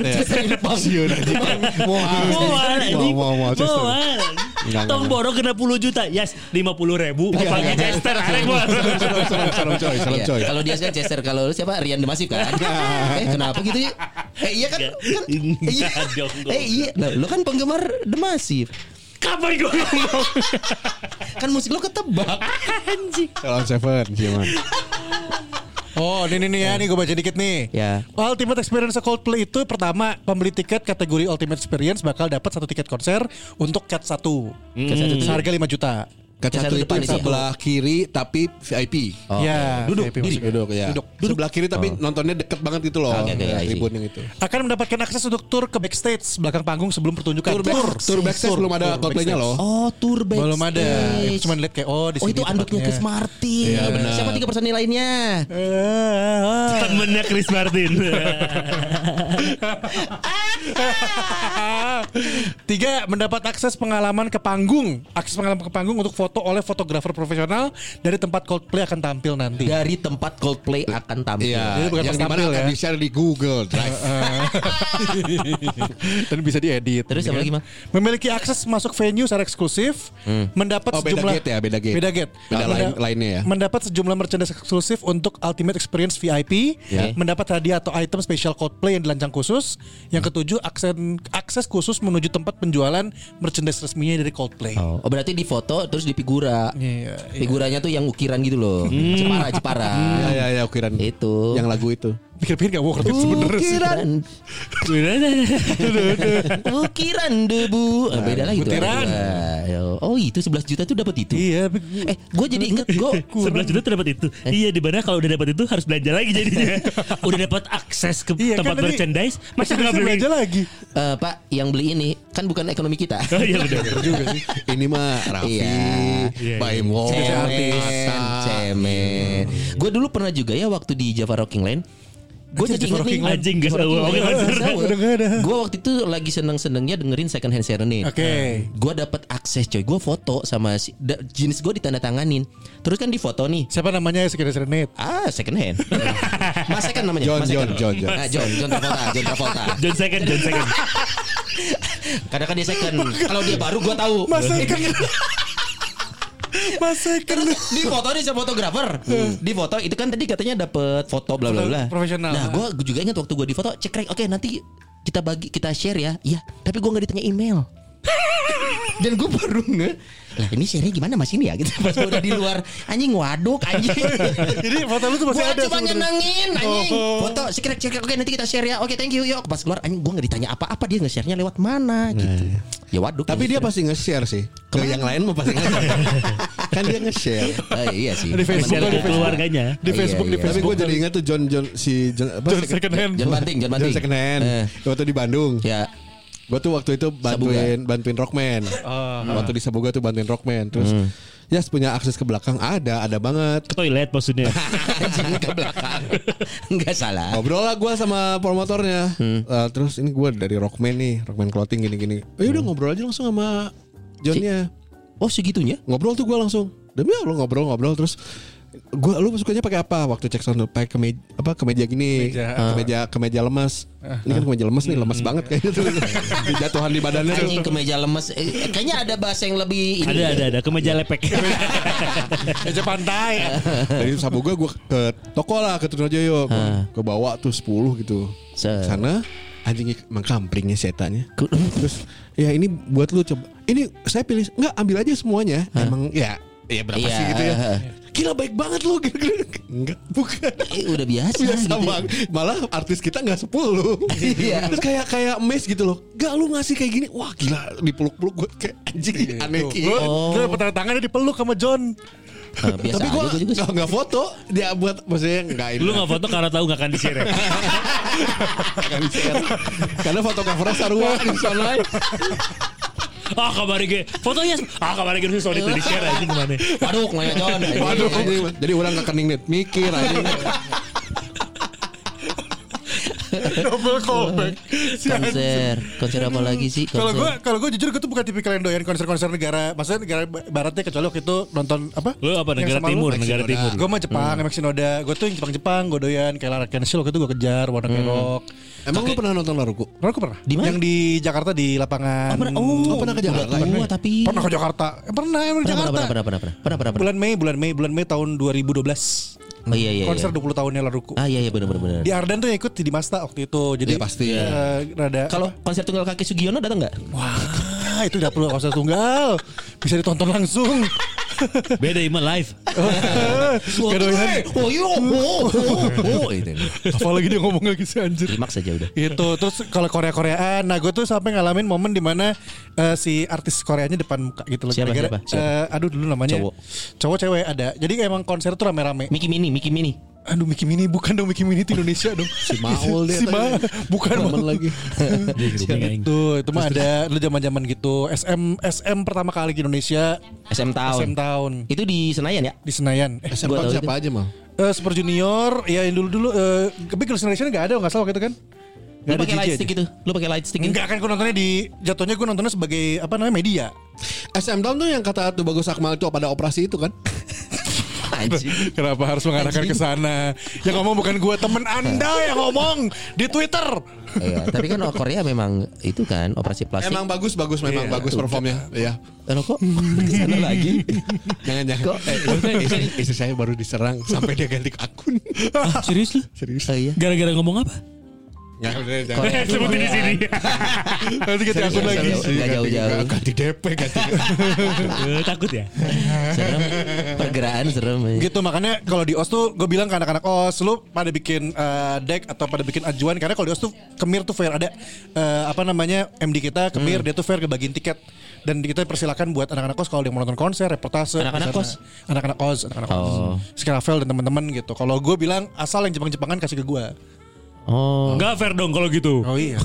Mau Tong borong kena 10 juta. Yes, 50.000. Pakai Chester. Arek gua. Salam coy. Iya. Kalau Dias kan Chester, kalau lu siapa? Rian Demasif kan? Kenapa gitu ya? Iya kan? Iya. Iya. Nah, lu kan penggemar Demasif. Kapan gue ngomong? Kan musik lu ketebak. Anjing. Salam Seven Ciuman. Oh, ini ya, nih gue baca dikit nih. Ya. Ultimate Experience Coldplay itu pertama, pembeli tiket kategori Ultimate Experience bakal dapat 1 tiket konser untuk cat 1. Seharga 5 juta. Cat satu itu depan itu. sebelah kiri tapi VIP. Ya, Duduk, VIP maksudnya. duduk ya. Sebelah kiri tapi nontonnya deket banget gitu loh. Oke, I see. Tribun yang itu. Akan mendapatkan akses untuk tour ke backstage belakang panggung sebelum pertunjukan. Tour backstage belum ada Coldplay-nya loh. Oh, tour backstage. Belum ada. Cuma lihat kayak di Oh, sini itu anduknya tempatnya. Chris Martin. Iya, benar. Siapa 3 personil lainnya? Temennya Chris Martin. 3, mendapat akses pengalaman ke panggung. Akses pengalaman ke panggung untuk foto oleh fotografer profesional dari tempat Coldplay akan tampil nanti. Dari tempat Coldplay akan tampil. Iya, Jadi bukan yang pas dimana tampil akan ya. di-share di Google Drive. Dan bisa diedit. Terus apa lagi, Mang? Memiliki akses masuk venue secara eksklusif, mendapat Oh, beda sejumlah gate ya, beda gate. Beda gate. Beda lainnya ya. Mendapat sejumlah merchandise eksklusif untuk Ultimate Experience VIP, mendapat hadiah atau item spesial Coldplay yang dilancang khusus. Yang ketujuh, akses khusus menuju tempat penjualan merchandise resminya dari Coldplay. Oh, berarti di foto terus di figura. Iya, Figuranya tuh yang ukiran gitu loh. Jepara. Iya, ukiran. Itu. Yang lagu itu. Pikir-pikir gak worth it sebenernya sih. Ukiran debu. Beda lagi tuh. butiran. Oh, itu 11 juta tuh dapat itu. Iya, Gue jadi inget 11 juta tuh dapat itu. Iya, di mana kalau udah dapat itu harus belanja lagi jadinya. Udah dapat akses ke Iya, tempat kan tadi- merchandise, masa nggak Bisa beli? belanja lagi. Pak, yang beli ini kan bukan ekonomi kita. Oh iya benar juga sih. Ini mah Raffi, Iya. Baimo, Cemen. Gue dulu pernah juga ya waktu di Java Rocking Lane. Gue jadi inget nih anjing gas gue waktu itu lagi seneng-senengnya dengerin Second Hand Serenade. Oke. Gue dapet akses coy. Gue foto sama jenis gue ditandatanganin. Terus kan di foto nih. Siapa namanya Second Serenade? Second Hand. Mas Second namanya. John John Second. Kadang kan dia second. Kalau dia baru gue tahu. Mas Second. Di foto nih sama fotografer. Di foto itu kan tadi katanya dapet foto bla bla bla. Profesional. Nah, gue juga ingat waktu gue di foto cekrek. Oke, nanti kita share ya. Iya, tapi gue nggak ditanya email. Dan gue baru lah ini share-nya gimana mas ini ya gitu. Pas gue udah di luar anjing waduk anjing. Jadi foto lu tuh masih ada. Gue cuma nyenengin anjing. Foto cekrek. Oke nanti kita share ya. Oke thank you yuk. Pas keluar anjing gue nggak ditanya apa-apa, dia nge-share-nya lewat mana gitu. Ya waduk. Tapi dia pasti nge-share sih. Ke yang lain mau pasti nge-share. Kan dia nge-share. Iya sih. Di Facebook ke keluarganya. Di Facebook. Tapi gue jadi ingat tuh John Second Hand. John Banting. John Second Hand. Waktu di Bandung. Ya. Gue tuh waktu itu bantuin Rockman. Waktu di Sabuga tuh bantuin Rockman. Terus ya punya akses ke belakang ada banget. Ke toilet maksudnya. Anjing ke belakang. Enggak salah. Ngobrol lah gue sama promotornya. Terus ini gue dari Rockman nih, Rockman Clothing gini-gini. Udah ngobrol aja langsung sama Johnnya. Oh segitunya? Ngobrol tuh gue langsung. Demi Allah ngobrol terus lu sukanya pakai apa waktu cek sound pakai kemeja gini, kemeja lemas. Ini kan kemeja lemas nih, lemas banget kayaknya tuh. Jatuhan di badannya. Anjing kemeja lemas. Kayaknya ada bahasa yang lebih ini. Ada kemeja lepek. Kemeja pantai. Dari Sabuga gue ke toko lah, ke Trunojoyo. Gue bawa tuh 10 gitu. Sana anjing emang kampringnya setanya. Terus ya ini buat lu coba. Ini saya pilih enggak ambil aja semuanya. Emang ya berapa sih gitu ya. Gila baik banget lo gitu. Enggak, bukan. Udah biasa gitu. Malah artis kita enggak 10. Iya. Terus kayak mes gitu loh. Enggak lu ngasih kayak gini. Wah gila dipeluk-peluk gue kayak anjing aneh gitu. Lu pertama tangannya dipeluk sama John. Biasa tapi gue juga nggak foto dia buat maksudnya nggak ini. Lu nggak foto karena tahu nggak akan di-share. Nggak di-share. Karena fotografernya sarua di sana. Kamari ge fotonya kamari ge sorry itu di-share aja gimana. Waduh nanya John. Waduh jadi orang kekening net mikir aja. Double callback. Konser apa lagi sih? Kalau gue jujur gue tuh bukan tipikal yang doyan konser-konser negara. Maksudnya negara baratnya kecuali waktu itu nonton apa? Lu apa negara timur? Gue mah Jepang, MX Shinoda. Gue tuh yang Jepang gue doyan kayak Lara Kenshin waktu itu gue kejar Warna Kerok. Emang lu pernah nonton Laruku? Laruku pernah. Di mana? Yang di Jakarta di lapangan. Pernah ke Jakarta? Pernah ke Jakarta. Pernah emang di Jakarta. Pernah. Bulan Mei tahun 2012. Oh iya. Konser 20 tahunnya Laruku. Iya benar. Di Ardan tuh yang ikut di Masta waktu itu. Jadi ya, pasti. Rada. Kalau konser tunggal kaki Sugiono datang nggak? Wah, itu udah perlu konser tunggal. Bisa ditonton langsung. Beda ima live. Apalagi dia ngomong lagi sih anjir. Klimaks aja udah. Itu terus kalau Koreaan, nah gue tuh sampai ngalamin momen dimana si artis Koreanya depan muka gitu loh. Siapa? Aduh dulu namanya. Cowok cewek ada. Jadi emang konser tuh rame-rame. Mickey Mini. Aduh Mickey Mini bukan dong, Mickey Mini itu Indonesia dong. Si Maul dia. Bukan lagi. Itu mah ada dulu zaman-zaman gitu. SM pertama kali di Indonesia. SM Town. Itu di Senayan ya? Di Senayan. SM Town siapa aja mal? Super Junior, ya yang dulu. Tapi Girls' Generation enggak ada enggak salah waktu itu kan? Lu pakai light stick gitu? Enggak kan, gue nontonnya jatuhnya gue nontonnya sebagai apa namanya media. SM Town tuh yang kata tuh Bagus Akmal itu pada operasi itu kan? Kenapa harus mengarahkan ke sana? Yang ngomong bukan gue, temen Anda yang ngomong di Twitter. Iya, tapi kan Korea memang itu kan operasi plastik. Emang bagus memang bagus performnya. Iya. Kok kesana lagi? Jangan. Istri saya baru diserang sampai dia ganti akun. Serius lu? Serius. Oh, iya. Gara-gara ngomong apa? Ya udah jangan. Sebutin di sini. Nanti ganti akun lagi. Gak jauh-jauh. Ganti DP ganti. Takut ya? Serem. Pergerakan serem. Gitu makanya kalau di OS tuh gue bilang ke anak-anak OS, lu pada bikin deck atau pada bikin ajuan, karena kalau di OS tuh Kemir tuh fair, ada MD kita Kemir, dia tuh fair kebagian tiket. Dan kita persilakan buat anak-anak OS kalau dia mau nonton konser, reportase. Anak-anak OS. Anak-anak OS. Skiravel dan teman-teman gitu. Kalau gue bilang asal yang Jepang-Jepangan kasih ke gue. Enggak fair dong kalau gitu. Oh iya.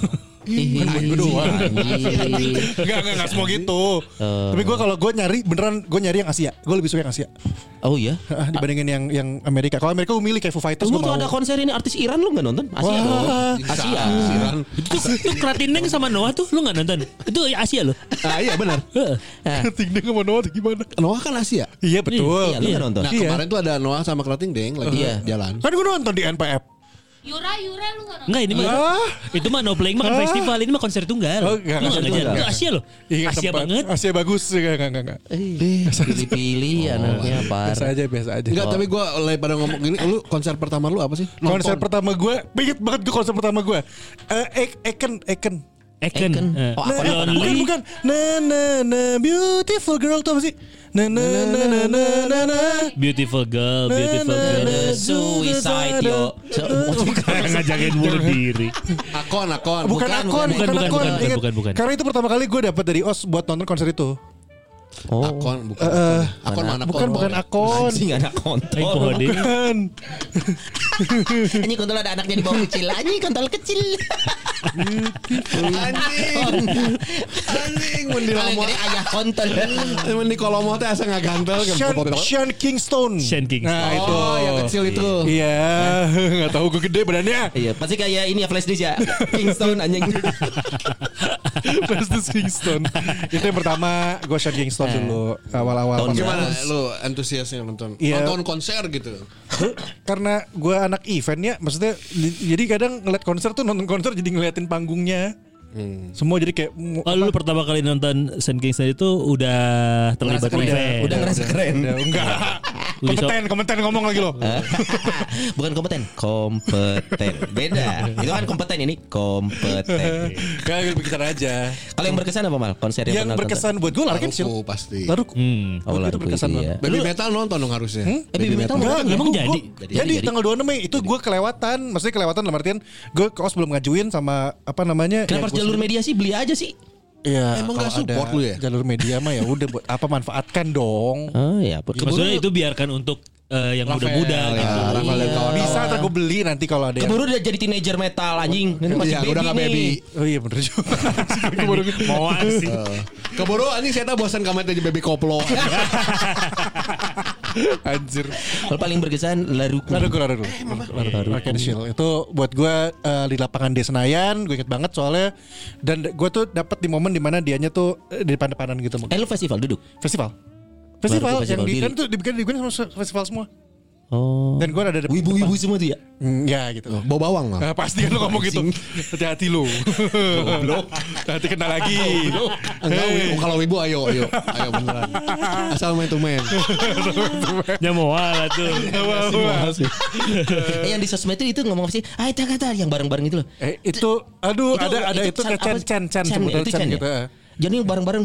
Kan buat gue doang. Enggak semua gitu. Tapi gue kalau gue nyari beneran gue nyari yang Asia. Gue lebih suka yang Asia. Oh iya. Dibandingin yang Amerika. Kalau Amerika gue milih kayak Foo Fighters. Lu tuh ada konser ini artis Iran lu nggak nonton? Asia dong. Asia. Iran. Itu Kratineng sama Noah tuh lu nggak nonton? Itu Asia loh. Iya benar. Ting Deng sama Noah gimana? Noah kan Asia. Iya betul. Iya, lu nggak nonton? Nah kemarin tuh ada Noah sama Krating Deng lagi jalan. Kan gue nonton di NPF. Yura lu gak nonton? Enggak ini mah. Itu mah no playing mah kan festival, ini mah konser tunggal. Oh, enggak, Lu nggak konser ngajar. tunggal. Itu Asia loh. Iya, Asia tempat. banget. Asia bagus. Enggak. Pilih-pilih anaknya Biasa parah. aja. Enggak, tapi gue lagi pada ngomong gini, lu konser pertama lu apa sih? Konser pertama gue, inget banget gue konser pertama gue. Eken. Eken. Oh, aku Lonely. Bukan. Na beautiful girl tuh apa sih? Na. Beautiful girl. Suicide yo. Kayak ngajakin bunuh diri. Akon. Bukan Akon. Ingat. Bukan. Karena itu pertama kali gue dapat dari OS buat nonton konser itu. Akon bukan. Akon mana? Bukan Akon. Anjing anak kontol. Aing poho deui. Bukan. Anjing kontol ada anaknya di bawah kecil. Anjing kontol kecil. Anjing mun di Kalau lamo. gede ayah kontol. Mun di kolomo teh asa ngagantel Sean Kingston. Sean Kingston. Nah itu. Oh, yang kecil itu. Iya, nggak tahu gue gede badannya. Iya, pasti kayak ini ya flash disk ya. Kingston anjing. Pasti Kingston. Itu yang pertama gue Sean Kingston dulu awal-awal. Tahun pas- Gimana lu antusiasnya nonton? Iya. Nonton konser gitu. Karena gue anak event ya, maksudnya jadi kadang ngeliat konser tuh nonton konser jadi ngeliatin panggungnya. Semua jadi kayak Oh lu pertama kali nonton Sean Kingston itu udah terlibat event. Udah ngerasa keren. enggak. Kompeten ngomong lagi lo. Bukan kompeten. Beda. Itu kan kompeten, ini kompeten. Kayak bicara aja. Kalau yang berkesan apa Mal? Konser Yang pernah berkesan buat gue Larkin Shield. Laruku pasti. Laruku. Oh, Itu lagu berkesan itu banget. ya. Baby Metal nonton dong harusnya. Baby Metal Enggak, Emang gua- jadi? Jadi tanggal 26 Mei itu gue kelewatan. Maksudnya kelewatan dalam artian gue ke OS belum ngajuin sama apa namanya. Kenapa harus jalur media sih? Beli aja sih. Iya, Emang kalau nggak support ada lu ya? Jalur media mah ya udah buat apa manfaatkan dong. Oh ya. Maksudnya itu biarkan untuk yang muda-muda Rafael, gitu. ya, Rafael dan kawan-kawan. Bisa ntar gue beli nanti kalau ada yang. Keburu udah jadi teenager metal anjing. Ini masih Iya, baby udah nggak nih. baby. Oh iya bener juga. Mau sih. Keburu anjing saya bosan kamu jadi baby koplo. Anjir. Kalau paling berkesan Laruku. Laruku. Larkin Shield itu buat gue di lapangan D Senayan. Gue inget banget soalnya. Dan gue tuh dapat di momen dimana dianya tuh di depan-depanan gitu. Lu festival duduk. Festival Laruku yang festival di diri. kan tuh dibikin sama festival semua. Oh. Dan gue ada Ibu-ibu semua tuh ya. Ya gitu. Bau bawang lah. Nah, pasti kan lu ngomong gitu. Hati-hati lu. Hati kena lagi. Enggak, kalau ibu ayo beneran. Asal main to main. Nyamoal tuh. Yang di sosmed itu ngomong apa sih? Ah, itu kata yang bareng-bareng itu loh. Itu aduh ada itu kayak Chan sebutan itu Chan ya? gitu. Jadi bareng-bareng.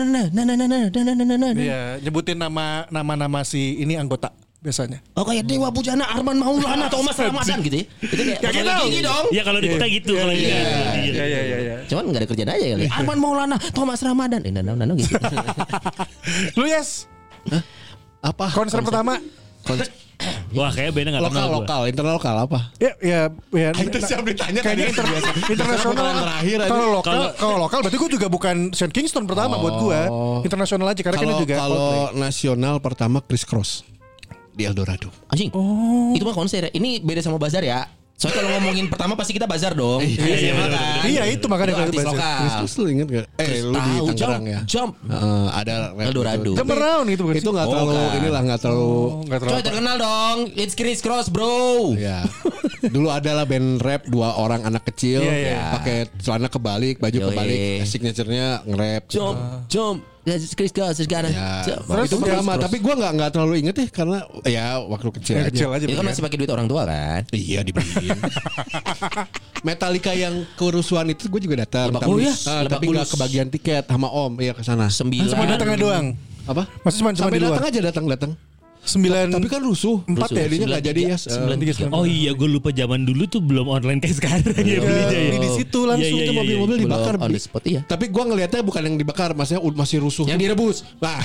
Iya, nyebutin nama si ini anggota biasanya. Oh kayak Dewa Bujana, Arman Maulana, Thomas Ramadan gitu ya. Itu kayak gitu. gigi dong. Iya kalau di kita gitu kalau ini. Iya. Cuman gak ada kerjaan aja kali. Arman Maulana, Thomas Ramadan. Nano gitu. Lu yes. Apa? Konser pertama. Wah kayak beda enggak kenal gua. Lokal, internal lokal apa? Ya. Itu siap ditanya Kayaknya internasional. terakhir aja. Kalau lokal berarti gue juga bukan Sean Kingston pertama buat gue. Internasional aja karena kan juga. Kalau nasional pertama Chris Cross di Eldorado. Anjing. Itu mah konser ya. Ini beda sama bazar ya. Soalnya kalau ngomongin pertama pasti kita bazar dong. Iya, itu makanya Itu artis bazar. lokal. Chris Cross lu inget gak? Lu di Tahu, Tangerang ya. Jump. Ada rap Eldorado. gitu. Jump around itu bukan Itu sih? nggak terlalu kan. inilah nggak terlalu. Nggak terlalu. Coy terkenal dong. It's Chris Cross bro. Ya. Dulu adalah band rap 2 orang anak kecil Iya. pakai celana kebalik, baju Yoi. kebalik, signaturenya nge-rap. Jump. Chris Cross sekarang. Ya. Jump. Itu pertama, tapi gue nggak terlalu inget ya karena ya waktu kecil aja. Kecil aja. Itu kan masih pakai duit orang tua kan. Iya dibeliin. Metallica yang kerusuhan itu gue juga datang. Lebak Tapi- Bulus. Ah, Lebak tapi nggak Bulus. kebagian tiket sama Om. Iya ke sana. 9. Cuma datangnya doang. Apa? Masih cuma Sampai di luar. datang aja datang. Tapi kan rusuh. 4 ya jadinya enggak jadi ya. 93. Oh iya, gue lupa zaman dulu tuh belum online kayak sekarang ya belinya ya. Di situ langsung tuh mobil-mobil dibakar. On the spot iya. Tapi gue ngelihatnya bukan yang dibakar, maksudnya masih rusuh. Yang direbus. Nah.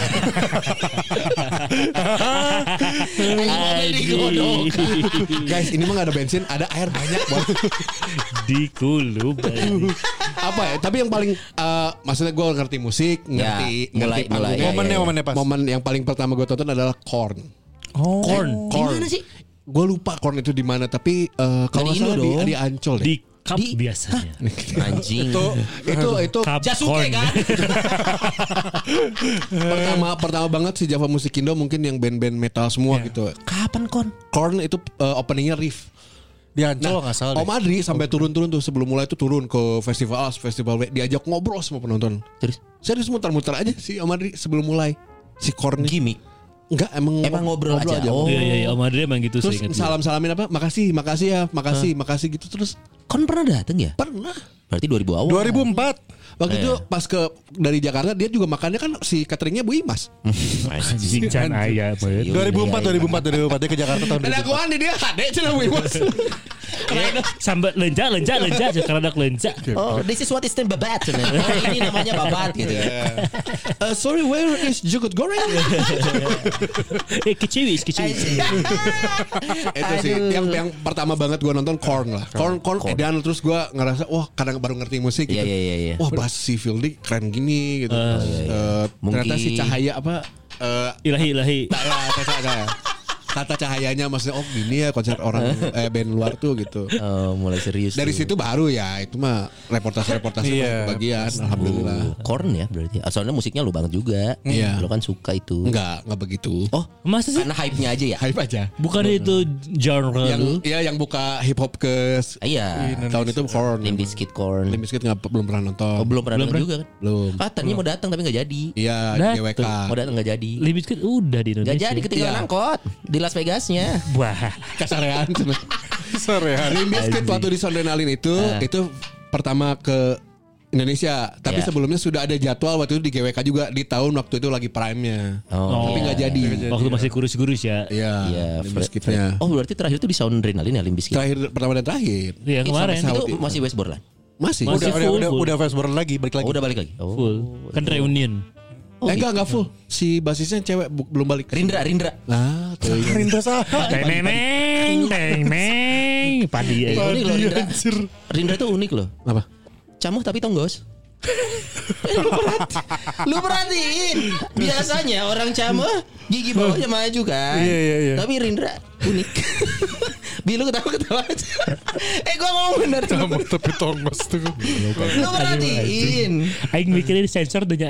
Guys, ini mah gak ada bensin, ada air banyak banget. Dikulub. Apa ya? Tapi yang paling maksudnya gue ngerti musik, ngerti mulai. Momennya pas. Momen yang paling pertama gue tonton adalah Korn. Korn. Gimana sih? Gue lupa Korn itu di mana, tapi kalau nggak salah di Ancol deh. Di cup biasanya. Anjing. Itu Cup Jasuke Korn. kan? pertama banget si Java Musikindo mungkin yang band-band metal semua gitu. Kapan Kon? Korn itu openingnya riff. Di Ancol nggak salah. Om Adri sampai turun-turun tuh sebelum mulai tuh turun ke festival A, festival B, diajak ngobrol sama penonton. Terus Serius muter-muter aja si Om Adri sebelum mulai si Korn. gimmick. Enggak, emang ngobrol aja. Oh. Iya, Om Adri emang gitu Terus seingat gue. salam-salamin apa? Makasih ya gitu terus. Kon pernah datang ya? Pernah. Berarti 2000 awal. 2004. Waktu itu pas dari Jakarta dia juga makannya kan si cateringnya Bu Imas. Anjing can aya banget. 2004 dia ke Jakarta tahun Dan aku 2004. andi dia ada cina Bu Imas. Sambil lenja sekarang ada lenja. Oh, this is what is named babat. Ini namanya babat gitu ya. Sorry, where is jukut goreng? Kiciwis. Itu sih yang pertama banget gue nonton Korn lah. Korn edan terus gue ngerasa wah kadang baru ngerti musik gitu. Iya. Wah bass si Fieldy keren gini gitu. Ternyata Mungkin- si cahaya apa? Ilahi. Tata cahayanya maksudnya gini ya konser orang band luar tuh gitu. Mulai serius. Dari tuh. situ baru ya itu mah reportase Iya, bagian alhamdulillah. Korn ya berarti. Soalnya musiknya lu banget juga. Iya. Lu kan suka itu. Enggak begitu. Oh, Masa sih? karena hype-nya aja ya? Hype aja. Bukan itu genre lu? Yang buka hip hop ke Iya. tahun itu Korn. Limp Bizkit Korn. Limp Bizkit belum pernah nonton. Oh, belum pernah datang juga kan? Belum. Tadinya mau datang tapi nggak jadi. Iya, Dateng. GWK. Mau datang nggak jadi. Limp Bizkit udah di Indonesia. Nggak jadi ketinggalan angkot di Las Vegasnya. Wah. Kasarean. Sorry ya. Limp Bizkit waktu di Soundrenalin itu pertama ke Indonesia. Tapi Ya. sebelumnya sudah ada jadwal waktu itu di GWK juga di tahun waktu itu lagi prime-nya. Oh, Tapi iya. nggak jadi. Waktu masih kurus-kurus ya. Iya. Iya, Limp Bizkitnya. Oh, berarti terakhir itu di Soundrenalin ya Limp Bizkit. Terakhir pertama dan terakhir. Iya kemarin. sampai Itu masih West Borland. Masih. Masih full. Udah fastboard lagi balik lagi. Oh, udah balik lagi. Oh. Full. Kan reunion. Enggak full. Si basisnya cewek belum balik. Rindra. Nah, tuh. Rinda sah. Teng. Padi. Unik loh Rindra. Rindra tuh unik loh. Apa? Camuh tapi tonggos. Lu perhatiin. Biasanya orang camuh gigi bawahnya maju kan. Iya. Tapi Rindra unik. Bilu ketawa aja. Gua ngomong bener tuh. Tapi tongos tuh. Lu perhatiin. Aing mikirin sensor tuh nya.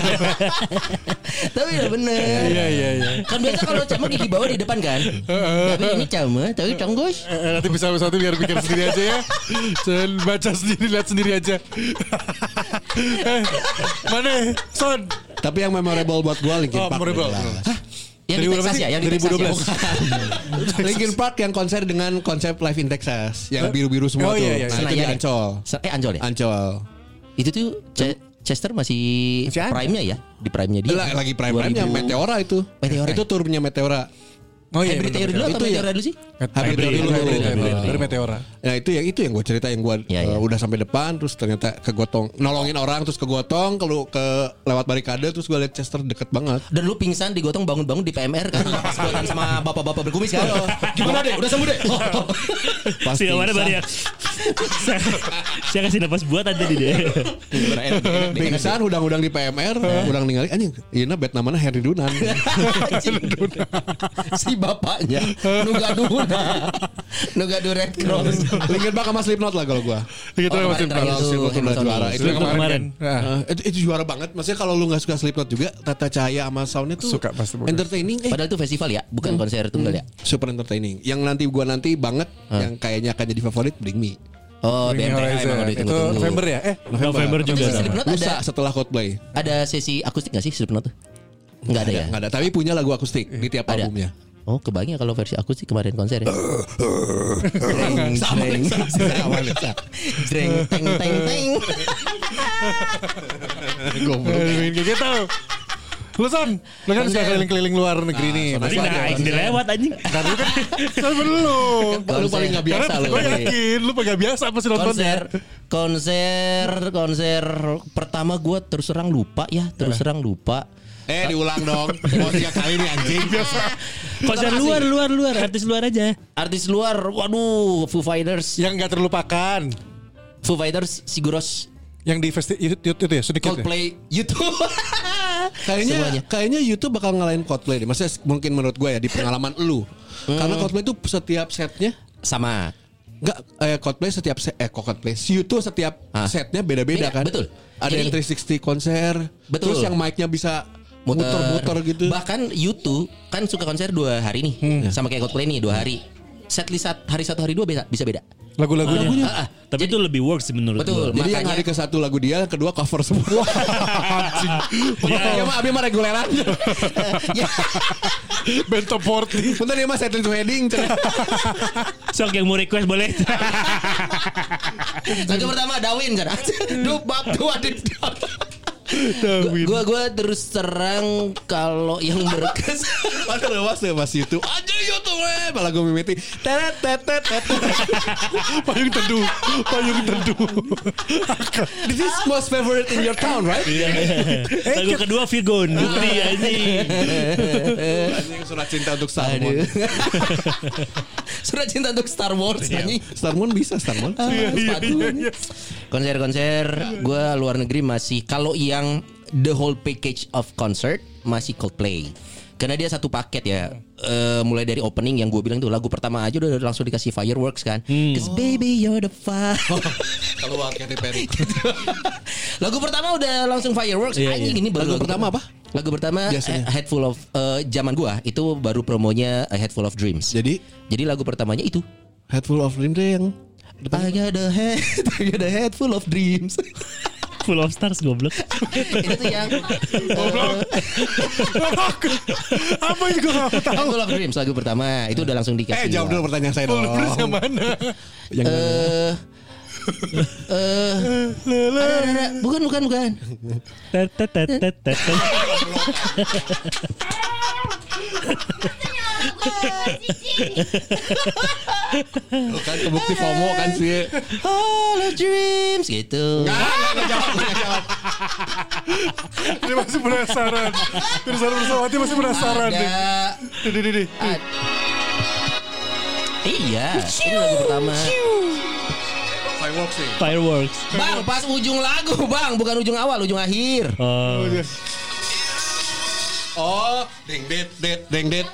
Tapi udah bener. Iya. Kan biasa kalau camuh gigi bawah di depan kan. Tapi ini camuh tapi tonggos. Nanti bisa satu biar pikir sendiri aja ya. Jangan baca sendiri, lihat sendiri aja. Mana? Son. Tapi yang memorable buat gua Linkin Park. Memorable. Jelas. Yang di Texas ya, yang di Texas ya. 2012. Linkin Park yang konser dengan konsep live in Texas, yang biru-biru semua Oh, tuh. iya. Nah, itu di Senayan ya? Ancol. Ancol ya? Ancol. Itu tuh Chester masih Masih ada. prime-nya ya? Di prime-nya dia. Lagi prime-nya 2000. Meteora itu. Meteora. Itu turnya Meteora. Oh iya. Hybrid Theory dulu atau Itu ya. Meteora dulu sih? Hybrid Theory dulu. Dari Meteora. Nah itu yang gue cerita yang gue Iya. udah sampai depan terus ternyata kegotong nolongin orang terus kegotong lewat barikade terus gue liat Chester deket banget. Dan lu pingsan digotong bangun-bangun di PMR kan pas buatan sama bapak-bapak berkumis kan. Gimana deh? Udah sembuh deh. Pasti Siapa mana banyak. Saya kasih napas buat aja di dia. pingsan udang-udang di PMR, udang ninggalin anjing. Iya bet namanya Henry Dunan. Si bapaknya Nugadu Red Cross. Linkin Park sama Slipknot lah kalau gue. Gitu Oh, masih kemarin terakhir tuh, Slipknot udah Hanson juara. Sony. Itu yang Kemarin. itu juara banget. Maksudnya kalau lu nggak suka Slipknot juga, tata cahaya sama soundnya tuh Suka, pasti bagus. entertaining. Padahal itu festival ya, bukan konser tunggal ya. Super entertaining. Yang nanti banget, yang kayaknya akan jadi favorit Bring Me. Oh, Bring Me BMTH Horizon. emang udah Itu ditunggu-tunggu. November ya? November juga. Tapi Slipknot Lusa ada setelah Coldplay. sesi akustik gak sih Slipknot tuh? Enggak ada ya? Nggak ada. Tapi punya lagu akustik di tiap Ada. albumnya. Oh, kebayang kalau versi akustik kemarin konser ya. Sama Jreng teng teng teng. Goblok. Kayak gitu. Lu kan suka keliling-keliling luar negeri nih. Berarti aing dilewat anjing. Kan lu kan belum. Lu paling gak biasa lu. Gue yakin lu gak biasa pasti nontonnya. Konser pertama gue terus terang lupa. Diulang dong. Mau 3 kali nih anjing. Biasa. Konser luar, artis luar aja. Artis luar, waduh, Foo Fighters. Yang gak terlupakan. Foo Fighters, Siguros. Yang di festival itu ya sedikit Coldplay, YouTube. Kayaknya YouTube bakal ngalahin Coldplay deh. Maksudnya mungkin menurut gue ya di pengalaman lu. Karena Coldplay itu setiap setnya sama. Enggak, Coldplay setiap YouTube setiap setnya beda-beda kan. Betul. Ada yang 360 konser. Betul. Terus yang mic-nya bisa muter-muter gitu. Bahkan YouTube kan suka konser 2 hari nih. Sama kayak Coldplay nih 2 hari. Setlist hari 1 hari 2 bisa beda. Lagu-lagunya. Tapi itu lebih works sih menurut Betul. gua. Jadi yang hari ke-1 lagu dia, yang kedua cover semua. Ya mah abi mah reguleran. Bento Porti. Bentar ya mah setting to heading. Sok yang mau request boleh. Lagu pertama Dawin kan. Dubab dua dit. Gua terus terang kalau yang berkesan. Mana lewas ya Mas itu. Aja YouTube malah gue mimiti. Tet. Payung teduh. This is most favorite in your town, right? Lagu kedua Virgon, Putri anjing. Anjing surat cinta untuk Star Wars. Surat cinta untuk Star Wars anjing. Star Wars bisa Star Wars. Konser-konser gue luar negeri masih kalau yang the whole package of concert masih Coldplay. Karena dia satu paket ya. Mulai dari opening yang gue bilang tuh lagu pertama aja udah langsung dikasih fireworks kan. Cause baby you're the fire. Kalau Katy Perry. Lagu pertama udah langsung fireworks. Anjing ini baru lagu pertama apa? Lagu pertama Head Full of zaman gua itu baru promonya A Head Full of Dreams. Jadi lagu pertamanya itu Head Full of Dreams yang I got a head full of dreams. Full of stars goblok. Itu tuh yang Apa juga gak tahu. Full of Dreams lagu pertama itu udah langsung dikasih. jawab dulu pertanyaan saya dong. Yang mana? Bukan. Kan kebukti FOMO kan sih. All of dreams gitu. Nggak jawab. Dia masih penasaran. Pirsa Bersawati masih penasaran nih. Di. Iya, ini lagu pertama. Fireworks. Bang, pas ujung lagu, Bang, bukan ujung awal, ujung akhir. Oh, ding det.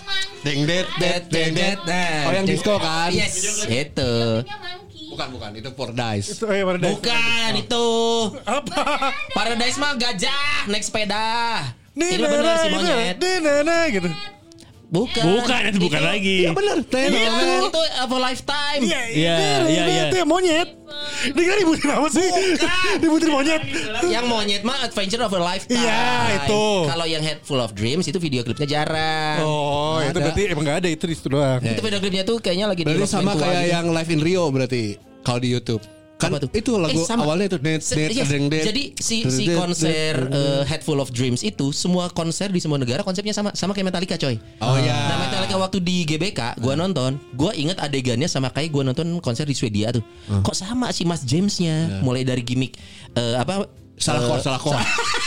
Nah, Oh, yang disco kan? Yes, itu. Bukan itu Paradise. Itu Paradise. Bukan itu. Apa? Paradise mah gajah naik sepeda. Ini benar si monyet. Gitu. Bukan Itu bukan lagi. Iya benar. Itu for lifetime. Iya. Itu monyet. Dia kan dibutin apa sih? Dibutin monyet. Yang monyet mah Adventure of a Lifetime. Iya, itu. Kalau yang Head Full of Dreams itu video klipnya jarang. Oh, itu berarti emang gak ada itu di situ doang. Itu video klipnya tuh kayaknya lagi Berarti di sama Rock kayak gitu. yang Live in Rio berarti kalau di YouTube. Kan Apa tuh? itu lagu sama. awalnya itu Yes. Jadi si konser Head Full of Dreams itu semua konser di semua negara konsepnya sama kayak Metallica coy. Oh iya. Nah Metallica waktu di GBK gua nonton, gua inget adegannya sama kayak gua nonton konser di Swedia tuh. Kok sama si Mas Jamesnya, mulai dari gimmick Salah chord.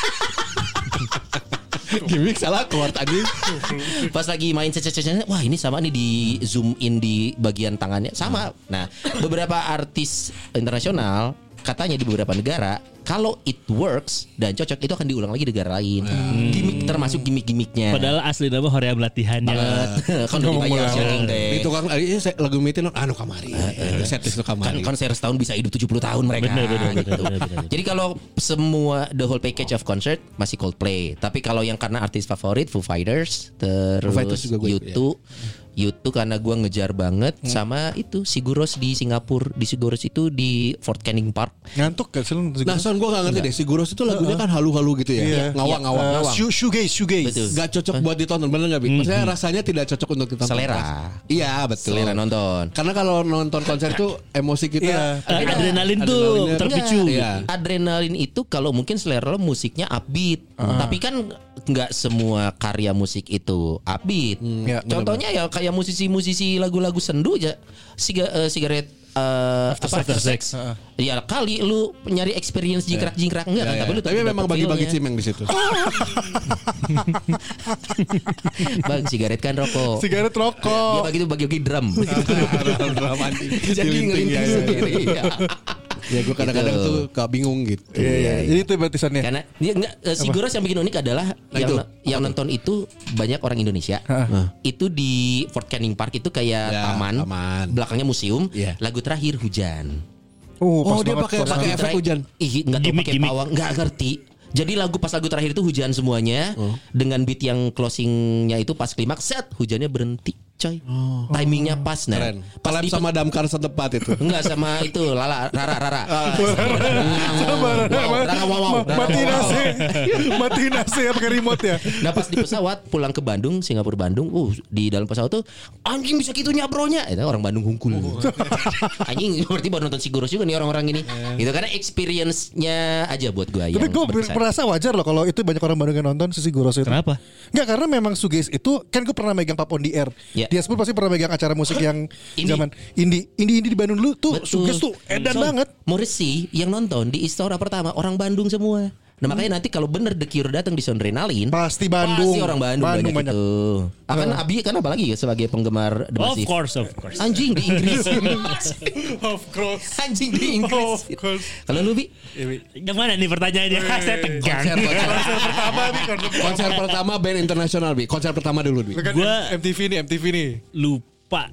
Gimik salah chord tadi. Pas lagi main cece-cece, wah ini sama nih di zoom in di bagian tangannya sama. Nah, beberapa artis internasional katanya di beberapa negara kalau it works dan cocok itu akan diulang lagi di negara lain. Gimik termasuk gimmick-gimmicknya. Padahal asli nama Horea latihannya. Kan udah dibayar sharing deh. Itu kan lagu mitin kamari. Setlist kamari. Kan konser setahun bisa hidup 70 tahun mereka. Bener. Jadi kalau semua the whole package of concert masih Coldplay. Tapi kalau yang karena artis favorit Foo Fighters, terus Fighters juga gue, YouTube karena gue ngejar banget sama itu Siguros di Singapura. Di Siguros itu di Fort Canning Park. Ngantuk gak sih lu? Nah son gue gak ngerti deh Siguros itu lagunya kan halu-halu gitu ya. Ngawang-ngawang. Shoegaze. Betul. Gak cocok buat ditonton, bener gak Bik? Maksudnya rasanya tidak cocok untuk ditonton. Selera. Iya betul. Selera nonton. Karena kalau nonton konser tuh emosi kita Adrenalin tuh terpicu. Adrenalin itu kalau mungkin selera lo musiknya upbeat, tapi kan nggak semua karya musik itu upbeat. Ya, Contohnya ya kayak musisi-musisi lagu-lagu sendu aja, Cigarette After Sex. Ya kali lu nyari experience jingkrak-jingkrak enggak kan? Tapi memang bagi-bagi cimeng di situ. Bang, sigaret kan rokok. Sigaret rokok. Dia bagi-bagi drum. Drum anjing. Jadi ngelinting sendiri. Ya gue kadang-kadang Gitu. tuh bingung gitu. Iya. Itu batisannya. Karena dia si Goros yang bikin unik adalah yang nonton itu banyak orang Indonesia. Itu di Fort Canning Park itu kayak Ya, taman. belakangnya museum. Iya. Lagu terakhir hujan. Oh, dia banget, pas pakai efek hujan. Ih, enggak tahu pakai Gimik. pawang, enggak ngerti. Jadi pas lagu terakhir itu hujan semuanya dengan beat yang closingnya itu pas klimaks set hujannya berhenti, coy. Timingnya pas nah. Keren. Collab sama Damkar setempat itu. Enggak sama itu Rara. Wow. Matiin AC ya pakai remote ya. Nah pas di pesawat pulang ke Bandung, Singapura Bandung, di dalam pesawat tuh anjing bisa gitunya bronya. Itu orang Bandung hungkul. Anjing berarti baru nonton Sigurus juga nih orang-orang ini. Gitu karena experience-nya aja buat gue yang Tapi gue berkesan. merasa wajar loh kalau itu banyak orang Bandung yang nonton Sisi Guros itu. Kenapa? Enggak, karena memang Suges itu kan gue pernah megang Pap on the Air. Ya. Dia pun pasti pernah megang acara musik yang Indie. zaman indie di Bandung dulu tuh Betul. Suges tuh edan banget. Morrissey yang nonton di Istora pertama orang Bandung semua. Nah makanya nanti kalau bener The Cure datang di Soundrenalin Pasti Bandung. pasti orang Bandung banyak itu. Akan Abi kan apalagi ya sebagai penggemar The Of Massive. course. Anjing di Inggris. Of course. Anjing di Inggris. Kalau lu Bi? Yang mana nih pertanyaannya? Saya tegang. Konser pertama band internasional, Bi. Konser pertama dulu, Bi. Kan Gua- MTV nih. Lupa.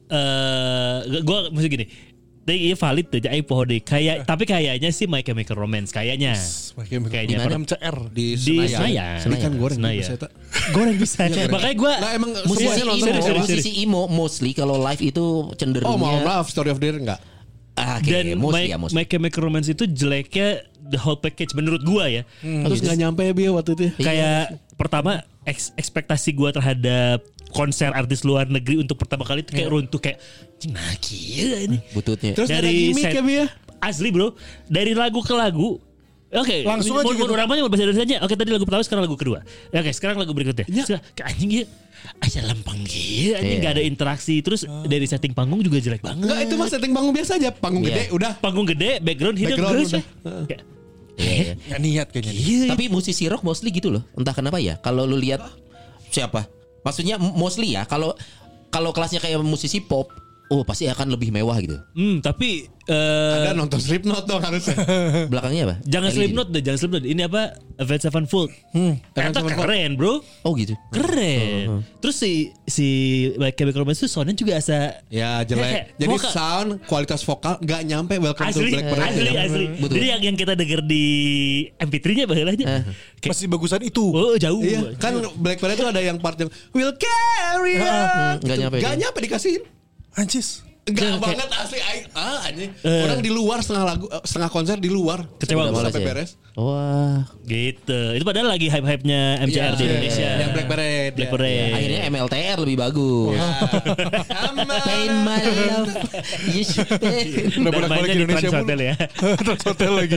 Gue mesti gini. Tapi iya valid tuh jadi pohon deh. Tapi kayaknya sih My Chemical Romance kayaknya. Kayaknya Di mana? MCR. Di Di Senayan. Ini kan goreng Senayan. bisa, tak? Goreng bisa. Makanya gue Lah emang Musisi semuanya nonton. emo, serius. musisi emo mostly kalau live itu Oh, cenderungnya maaf, Story of the Year enggak? dan mostly. My Chemical Romance itu jeleknya the whole package menurut gue ya. Terus enggak nyampe ya, Bi, waktu itu. Kayak pertama ekspektasi gue terhadap konser artis luar negeri untuk pertama kali itu kayak runtuh kayak nah gila ini. Bututnya. Terus ada Dari gimmick set- ya, Bi ya? Asli bro, dari lagu ke lagu. Oke, Langsung aja gitu. orang banyak bahasa Indonesia. Oke, tadi lagu pertama, sekarang lagu kedua. Oke, sekarang lagu berikutnya. Ya. Kayak anjing ya. Aja lempeng gila, anjing Iya. gak ada interaksi. Terus dari setting panggung juga jelek banget. Enggak, itu mah setting panggung biasa aja. Panggung Iya. gede udah. Panggung gede, background hidup Background terus. udah. Kayak, Iya. Nggak niat kayaknya. iya. Tapi musisi rock mostly gitu loh. Entah kenapa ya. Kalau lu lihat siapa? Maksudnya mostly ya. Kalau kelasnya kayak musisi pop, pasti akan lebih mewah gitu. Tapi Ada nonton Slipknot dong harusnya. Belakangnya apa? jangan LED. Slipknot deh, jangan Slipknot. Ini apa? Avenged Sevenfold. Eta keren, bro. Oh gitu. Keren. Terus si My Chemical Romance itu soundnya juga asa Ya jelek. Kayak Jadi voka- sound kualitas vokal nggak nyampe Welcome to asli, Black Parade. asli. Betul. Jadi yang kita denger di MP3-nya bahalanya. Kayak, Masih bagusan itu. oh jauh. Iya, kan Black Parade itu ada yang part yang will carry on. Nggak nyampe Nggak dia. nyampe dikasihin. Anjis. Enggak banget asli anjing. Orang di luar setengah konser di luar. Kecewa Sebelum gua. sampai ya. beres. Wah. Gitu. Itu padahal lagi hype-hype-nya MCR di Iya, Indonesia. Yang Black Parade. Black ya. Parade. Akhirnya MLTR lebih bagus. Pain my love. You should pay. Udah Dan bolak-balik mainnya ke di Indonesia Trans pun. Hotel ya. Trans Hotel lagi.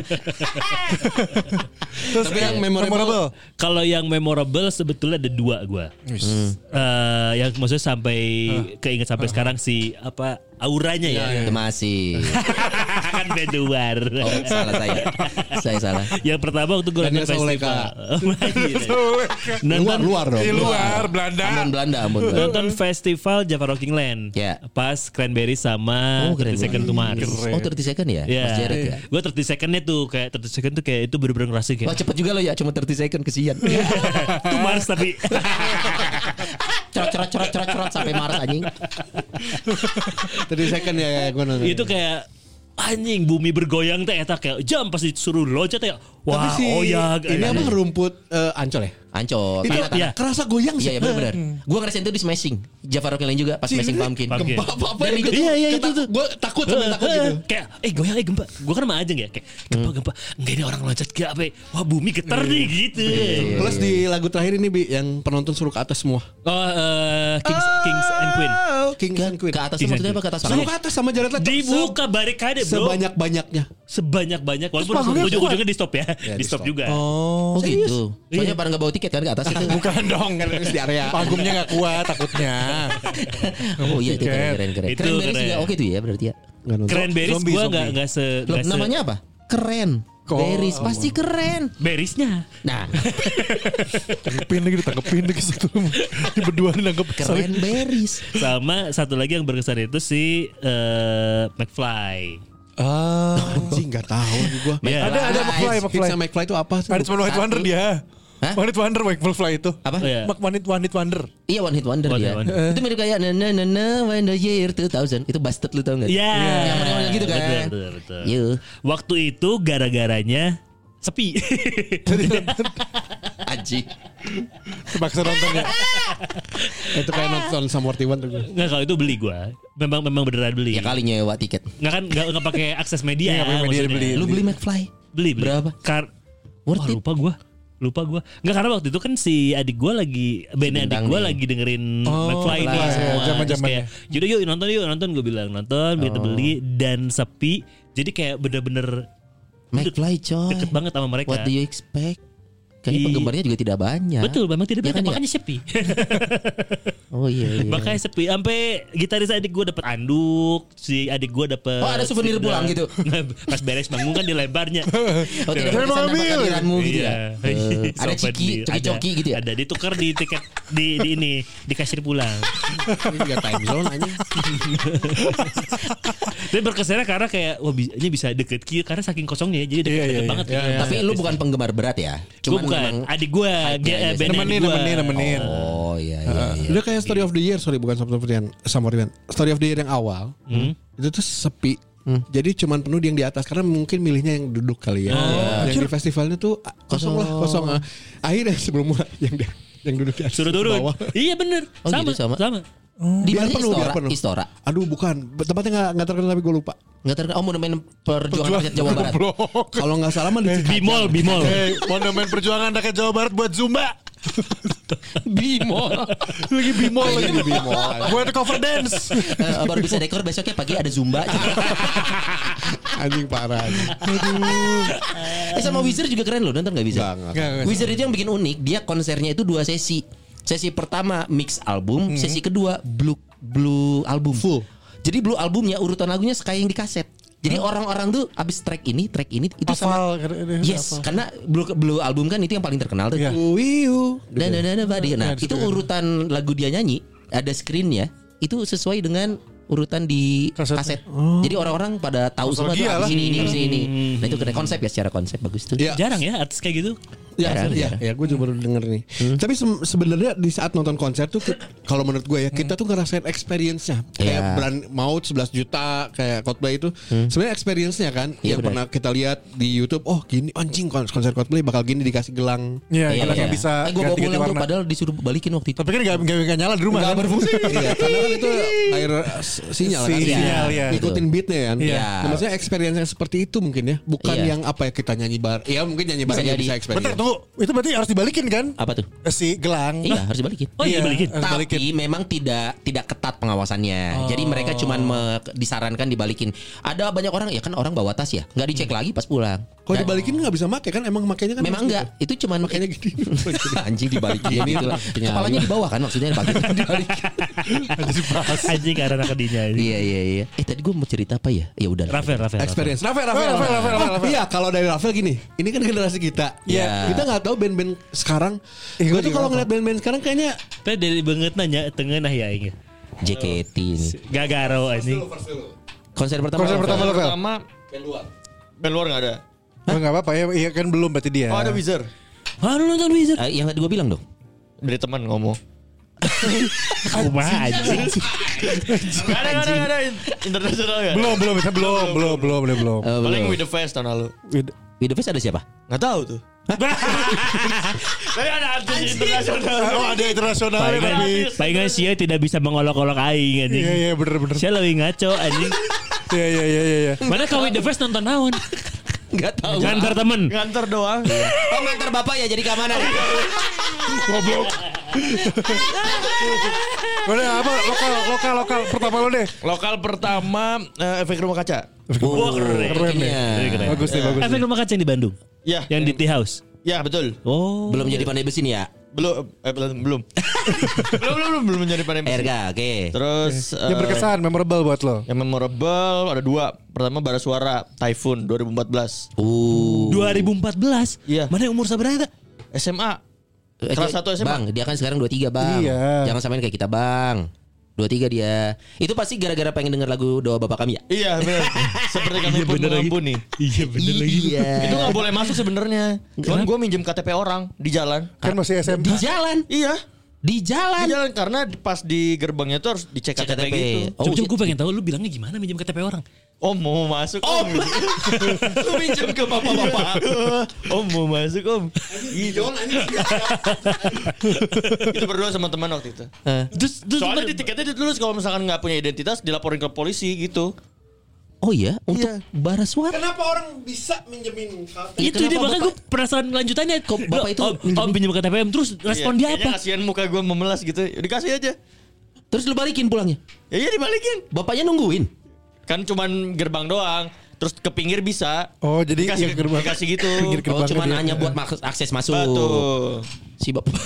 Terus Tapi yang memorable. Kalau yang memorable sebetulnya ada dua gue. Yang maksudnya sampai keinget sampai sekarang si apa auranya ya. Masih. Kan band luar. Oh, salah saya. Saya salah. Yang pertama waktu gue nonton Daniel Sauleka. Nonton Luar dong. di luar Belanda. Amun Belanda, amun. nonton festival Java Rocking Land. Ya. Pas Cranberry sama Oh, keren 30 Second to Mars. Oh 30 second ya? Ya, Mas Jared ya? gue 30 secondnya tuh kayak 30 second tuh kayak itu bener-bener ngerasain kayak Wah cepet juga lo ya, cuma 30 second kesian. to Mars tapi Cerot sampai Mars anjing. Tadi second ya gue nonton. itu kayak anjing bumi bergoyang teh eta kayak jam pas disuruh loncat ya wah Tapi si oyag ini apa rumput Ancol ya? Ancol. Itu Tanah-tanah. iya. kerasa goyang sih. Iya benar-benar. Gue ngerasain itu di Smashing. Java Rocking Land juga pas Si Smashing ini Pumpkin. Pumpkin. Gempa apa Dan itu Iya, iya, itu tuh. Gue takut sampai takut gitu. kayak goyang gempa gue kan sama Ajeng ya kayak gempa enggak ini orang loncat kayak apa ya? Wah bumi getar nih gitu Plus di lagu terakhir ini Bi yang penonton suruh ke atas semua. Kings and Queen Kings and Queen. Ke atas Kings maksudnya and apa ke atas? Suruh ke atas sama Jared Leto. dibuka barikade bro Sebanyak-banyaknya. sebanyak-banyak walaupun panggungnya ujung-ujungnya di stop ya, Ya, di stop juga Oh gitu. Soalnya Iya. pada nggak bawa tiket tiket kan ke atas itu. Bukan dong kan di area. Panggungnya nggak kuat takutnya. Oh iya itu keren. Itu Cranberries keren. juga oke tuh ya berarti ya. Cranberries gue nggak se. Loh, namanya apa? Keren. Berries pasti keren. Berisnya. Nah, Ditangkepin lagi satu. Ini berdua nangkep keren berries. Sama satu lagi yang berkesan itu si McFly. Anjing enggak tahu gua. Ya. Ada McFly. Hitsnya McFly itu apa sih? Ada cuma One Hit Wonder dia. Hah? One Hit Wonder McFly itu. Apa? Oh, iya. One Hit Wonder. Iya One Hit Wonder One dia. Hit Wonder. Itu mirip kayak when the year 2000. Itu Bastard lu tau gak? Iya. Yang model gitu kan. Betul. Iya. Waktu itu gara-garanya sepi. Anjing. Terpaksa nonton ya. Itu kayak nonton Sum 41 tuh gue. Nggak, kalau itu beli gue. Memang beneran beli. Ya kali nyewa tiket. Nggak pakai akses media. Iya, nggak pakai media maksudnya. dibeli. Lu beli McFly? Beli. Berapa? Worth it? Lupa gue. Nggak, karena waktu itu kan si adik gue lagi bandnya adik Bintang gue nih. lagi dengerin Oh, McFly nih iya, semua. Terus zaman-zamannya. kayak, yaudah yuk nonton. Gue bilang nonton, kita beli dan sepi. Jadi kayak bener-bener McFly coy. deket banget sama mereka. What do you expect? Kayaknya penggemarnya juga tidak banyak. Betul, memang tidak Ya banyak, kan, makanya sepi. Oh iya. Makanya sepi. Sampai gitaris adik gue dapet anduk, si adik gue dapet. Oh, ada souvenir stick pulang dan- gitu? Pas beres manggung kan dilemparnya. Oh tidak Jangan berkesan ambil. tanpa kehadiranmu gitu ya. Iya. Ada coki-coki gitu ya. Ada ditukar di tiket di ini di kasir pulang. Ini juga time zone anjing. Tapi berkesannya karena kayak wah ini bisa deket kieu karena saking kosongnya jadi deket banget. Tapi lu bukan penggemar berat ya? Gue bukan. memang- Adik gue aja sih. Nemenin. Oh iya iya. Udah kayak Story of the Year, sorry bukan Sum 41. Story of the Year yang awal. Itu tuh sepi. Jadi cuman penuh yang di atas karena mungkin milihnya yang duduk kali ya. Yang di festivalnya tuh kosong. Akhirnya sebelum mulai yang duduk di atas. Suruh turun. bawah. Iya bener. Oh, gitu, sama. Di Biar mana penuh, biar Istora? penuh. Istora. Aduh bukan, tempatnya nggak terkenal tapi gue lupa. Enggak terkenal. Oh, Monumen Perjuangan Rakyat Jawa Barat. Kalau nggak salah mah di Bimol. Monumen Perjuangan Rakyat Jawa Barat buat Zumba. Bimol. Lagi bimol lagi. di Bimol. Buat cover dance. Baru bisa dekor besoknya pagi ada Zumba. Anjing parah. Anjing. Sama Wizard juga keren loh, nonton enggak bisa? Nggak. Wizard itu yang bikin unik, dia konsernya itu 2 sesi. Sesi pertama mix album, sesi kedua blue album full. Jadi blue albumnya urutan lagunya kayak yang di kaset. Jadi orang-orang tuh abis track ini itu sama. Yes, karena blue album kan itu yang paling terkenal tuh. Iya. Wiu. Dan nah itu urutan lagu dia nyanyi ada screennya itu sesuai dengan urutan di kaset. Jadi orang-orang pada tahu semua tuh Nostalgia lah. abis ini. Nah itu keren konsep ya, secara konsep bagus tuh. Iya. Jarang ya artis kayak gitu. Ya, gue juga baru denger nih. Tapi sebenarnya di saat nonton konser tuh, kalau menurut gue ya, kita tuh ngerasain experience-nya. Kayak Iya. Brand Maut 11 juta, kayak Coldplay itu. Sebenarnya experience-nya kan, Iya, yang benar. pernah kita lihat di YouTube. Oh gini, anjing konser Coldplay bakal gini dikasih gelang. Iya, kita nggak bisa Gue bawa ganti-ganti pulang tuh warna. padahal disuruh balikin waktu itu. Tapi kan nggak nyala di rumah. Nggak kan? berfungsi. Iya, karena kan itu air sinyal kan. Sinyal, Iya. iya. Ngikutin beatnya kan. Iya. Nah, maksudnya experience yang seperti itu mungkin ya, bukan Iya. yang apa ya kita nyanyi bar. Ya mungkin nyanyi bar Bisa aja jadi. bisa experience. Bentar tunggu, itu berarti harus dibalikin kan? Apa tuh? Si gelang. Iya harus dibalikin. Oh iya dibalikin. harus balikin. Tapi memang tidak ketat pengawasannya. Jadi mereka cuman disarankan dibalikin. Ada banyak orang ya kan orang bawa tas ya, nggak dicek lagi pas pulang. Kalau dibalikin nggak bisa make kan? Emang makainya kan? Memang harus enggak, itu cuman Makanya gini. anjing dibalikin gitu lah. Kepalanya di bawah kan maksudnya dibalikin. Anjing karena kedinya. Iya. Tadi gue mau cerita apa ya? Ya udah. Rafael. Experience. Rafael. Iya, kalau dari Rafael gini, ini kan generasi kita. Iya. Kita nggak tahu band-band sekarang. Gue tuh kalau ngeliat band-band sekarang kayaknya Tapi dari banget nanya tengah nah ya ini. JKT ini. Gagaro anjing. Konser pertama. Konser pertama lo, Fel? Pertama band luar nggak ada. Oh, nggak apa-apa ya, iya kan belum berarti dia. Oh ada Wizard. Ah lu nonton Wizard? Yang tadi gue bilang dong. Dari teman ngomong. Kumaha anjing. Gak ada internasional ya. Belum. Paling With The Fest tahun lalu. With the Face ada siapa? Nggak tahu tuh. Tapi ada artis internasional. Oh, ada internasional tapi. Palingan Sia tidak bisa mengolok-olok aing anjing. Iya, bener. Saya lebih ngaco anjing. Iya. Mana kau With The Fest nonton naon? Enggak tahu. Ngantar temen. Nganter doang. Oh ngantar bapak ya jadi keamanan. Goblok. Udah apa lokal pertama lo deh. Lokal pertama Efek Rumah Kaca. Wah keren. Keren deh. Keren. Bagus nih. Efek Rumah Kaca yang di Bandung. Ya. Yang di Tea House. Ya betul. Oh. Belum jadi pandai besi nih ya? Belum menjadi pandai besi. Erga, oke. Terus Yang berkesan, memorable buat lo. yang memorable ada 2. Pertama Bara Suara Typhoon 2014. 2014. Iya. Mana yang umur sabaranya? SMA. Kelas 1 SMA. Bang, dia kan sekarang 23 bang. Iya. Jangan samain kayak kita bang. 23 dia. Itu pasti gara-gara pengen denger lagu Doa Bapak Kami ya? Iya benar. Seperti kami pun mengampuni. Iya bener lagi. Iya. Itu gak boleh masuk sebenarnya. Cuman gue minjem KTP orang di jalan. Kan masih SMA. Di jalan. Iya. Di jalan. Di jalan karena pas di gerbangnya tuh harus dicek Cek KTP, KTP. gitu. Oh, Coba gue pengen tahu lu bilangnya gimana minjem KTP orang. Om mau masuk om. Lu minjem ke bapak-bapak. Om mau masuk om. Gitu. Itu berdua sama teman waktu itu. Terus Soalnya di tiketnya ditulis kalau misalkan nggak punya identitas dilaporin ke polisi gitu. Oh iya, untuk Iya. Bara Suara. Kenapa orang bisa minjemin KTP? itu dia makanya gue penasaran lanjutannya. Kok bapak itu om pinjam KTP terus respon dia Kayaknya apa? kasihan muka gue memelas gitu. Dikasih aja. Terus lu balikin pulangnya. Ya iya dibalikin. Bapaknya nungguin. Kan cuman gerbang doang. Terus ke pinggir bisa. Oh, jadi Dikasih, yang gerbang. dikasih gitu. Pinggir Oh, gerbang cuman dia. hanya buat akses masuk. Betul. Si bapak.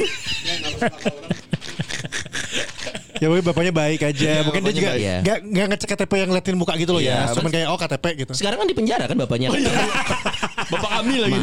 Ya woi bapaknya baik aja. Mungkin dia bapaknya juga baik. nggak ngecek KTP yang ngeliatin muka gitu loh Iya, ya. Cuman kayak KTP gitu. Sekarang kan di penjara kan bapaknya. Bapak kami lagi.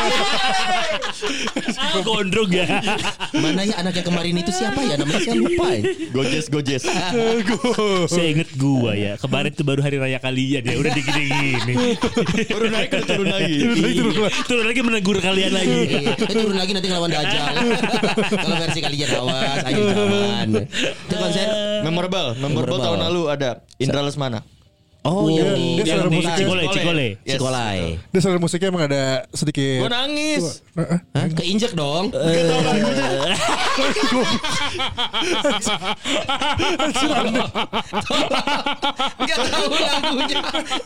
Gondrong ya. Mana ya anak yang kemarin itu siapa ya? Namanya saya lupa ya. Gojes. Saya inget gua ya. Kemarin tuh baru hari raya kalian ya. Udah digini-gini. Baru naik udah turun lagi. Turun lagi menegur kalian lagi. Iya, turun lagi nanti ngelawan Dajjal. Kalau versi kalian awas, ayo zaman. Itu konser. Memorable tahun lalu ada Indra Lesmana. Oh, yang di dia selera musiknya. Cikole. Yes. sekolah. Dia selera musiknya emang ada sedikit. Gue nangis. Hah? Keinjek dong. Enggak tahu lagunya.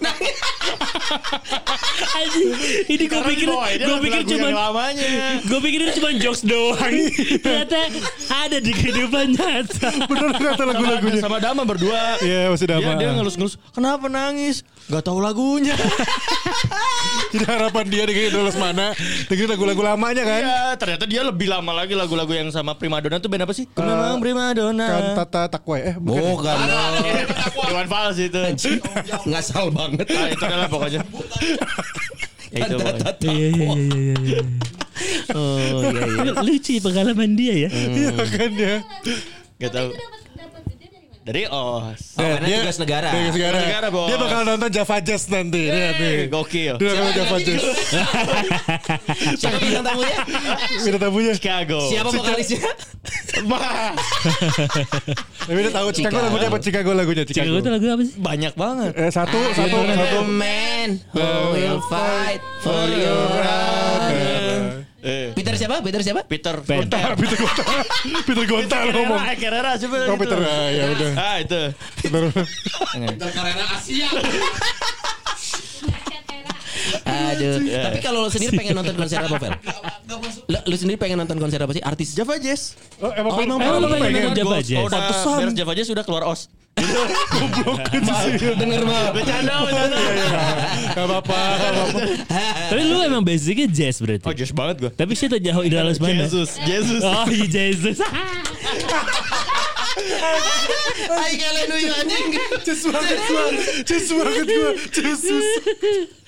Anjing, ini gue pikir cuma lamanya. gue pikir itu cuma jokes doang. Ternyata ada di kehidupan nyata. Bener kata lagu-lagunya. Sama Dama berdua. Iya masih Dama. Dia ngelus-ngelus. Kenapa nangis? Gak tahu lagunya. Jadi harapan dia dengan Indra Lesmana dengerin lagu-lagu lamanya kan. Iya, ternyata dia lebih lama lagi lagu-lagu yang sama Primadona tuh band apa sih? Memang Primadona. Kantata Takwa Bukan. Dewan Fals itu. Ngasal banget. Nah, itu adalah pokoknya. Ya, itu pokoknya. Iya. Oh iya iya. Lucu ya pengalaman dia ya. Iya kan ya. Gak tahu. Itu dapat gede dari mana? Dari OS. Oh, karena tugas negara. Tugas negara. Tugas negara, Bos. Dia bakal nonton Java Jazz nanti. Lihat nih. Gokil. Dia nonton Java Jazz. Siapa bintang tamunya? Kita tamunya. Chicago. Siapa vokalisnya? Tapi dia tahu Chicago lagunya apa? Chicago lagunya Chicago itu lagu apa sih? Banyak banget. Satu. The man who will fight for your honor. Peter siapa? Peter Peter Gonta ngomong. Carrera siapa? Oh Peter ya udah. Ah itu. Karena Asia. Aduh. Tapi kalau lo sendiri pengen nonton konser apa, Fel? Lu sendiri pengen nonton konser apa sih? Artis Java Jazz. Oh emang emang pengen. Java Jazz. Oh, udah beres Java Jazz udah keluar OS. denger mah. Bercanda. Gak apa-apa. Tapi lu emang basicnya jazz berarti. Oh jazz banget gua. Tapi saya tahu jauh Indra Lesmana. Jesus. Oh iya Jesus. Ay kalian anjing. Cus banget gua.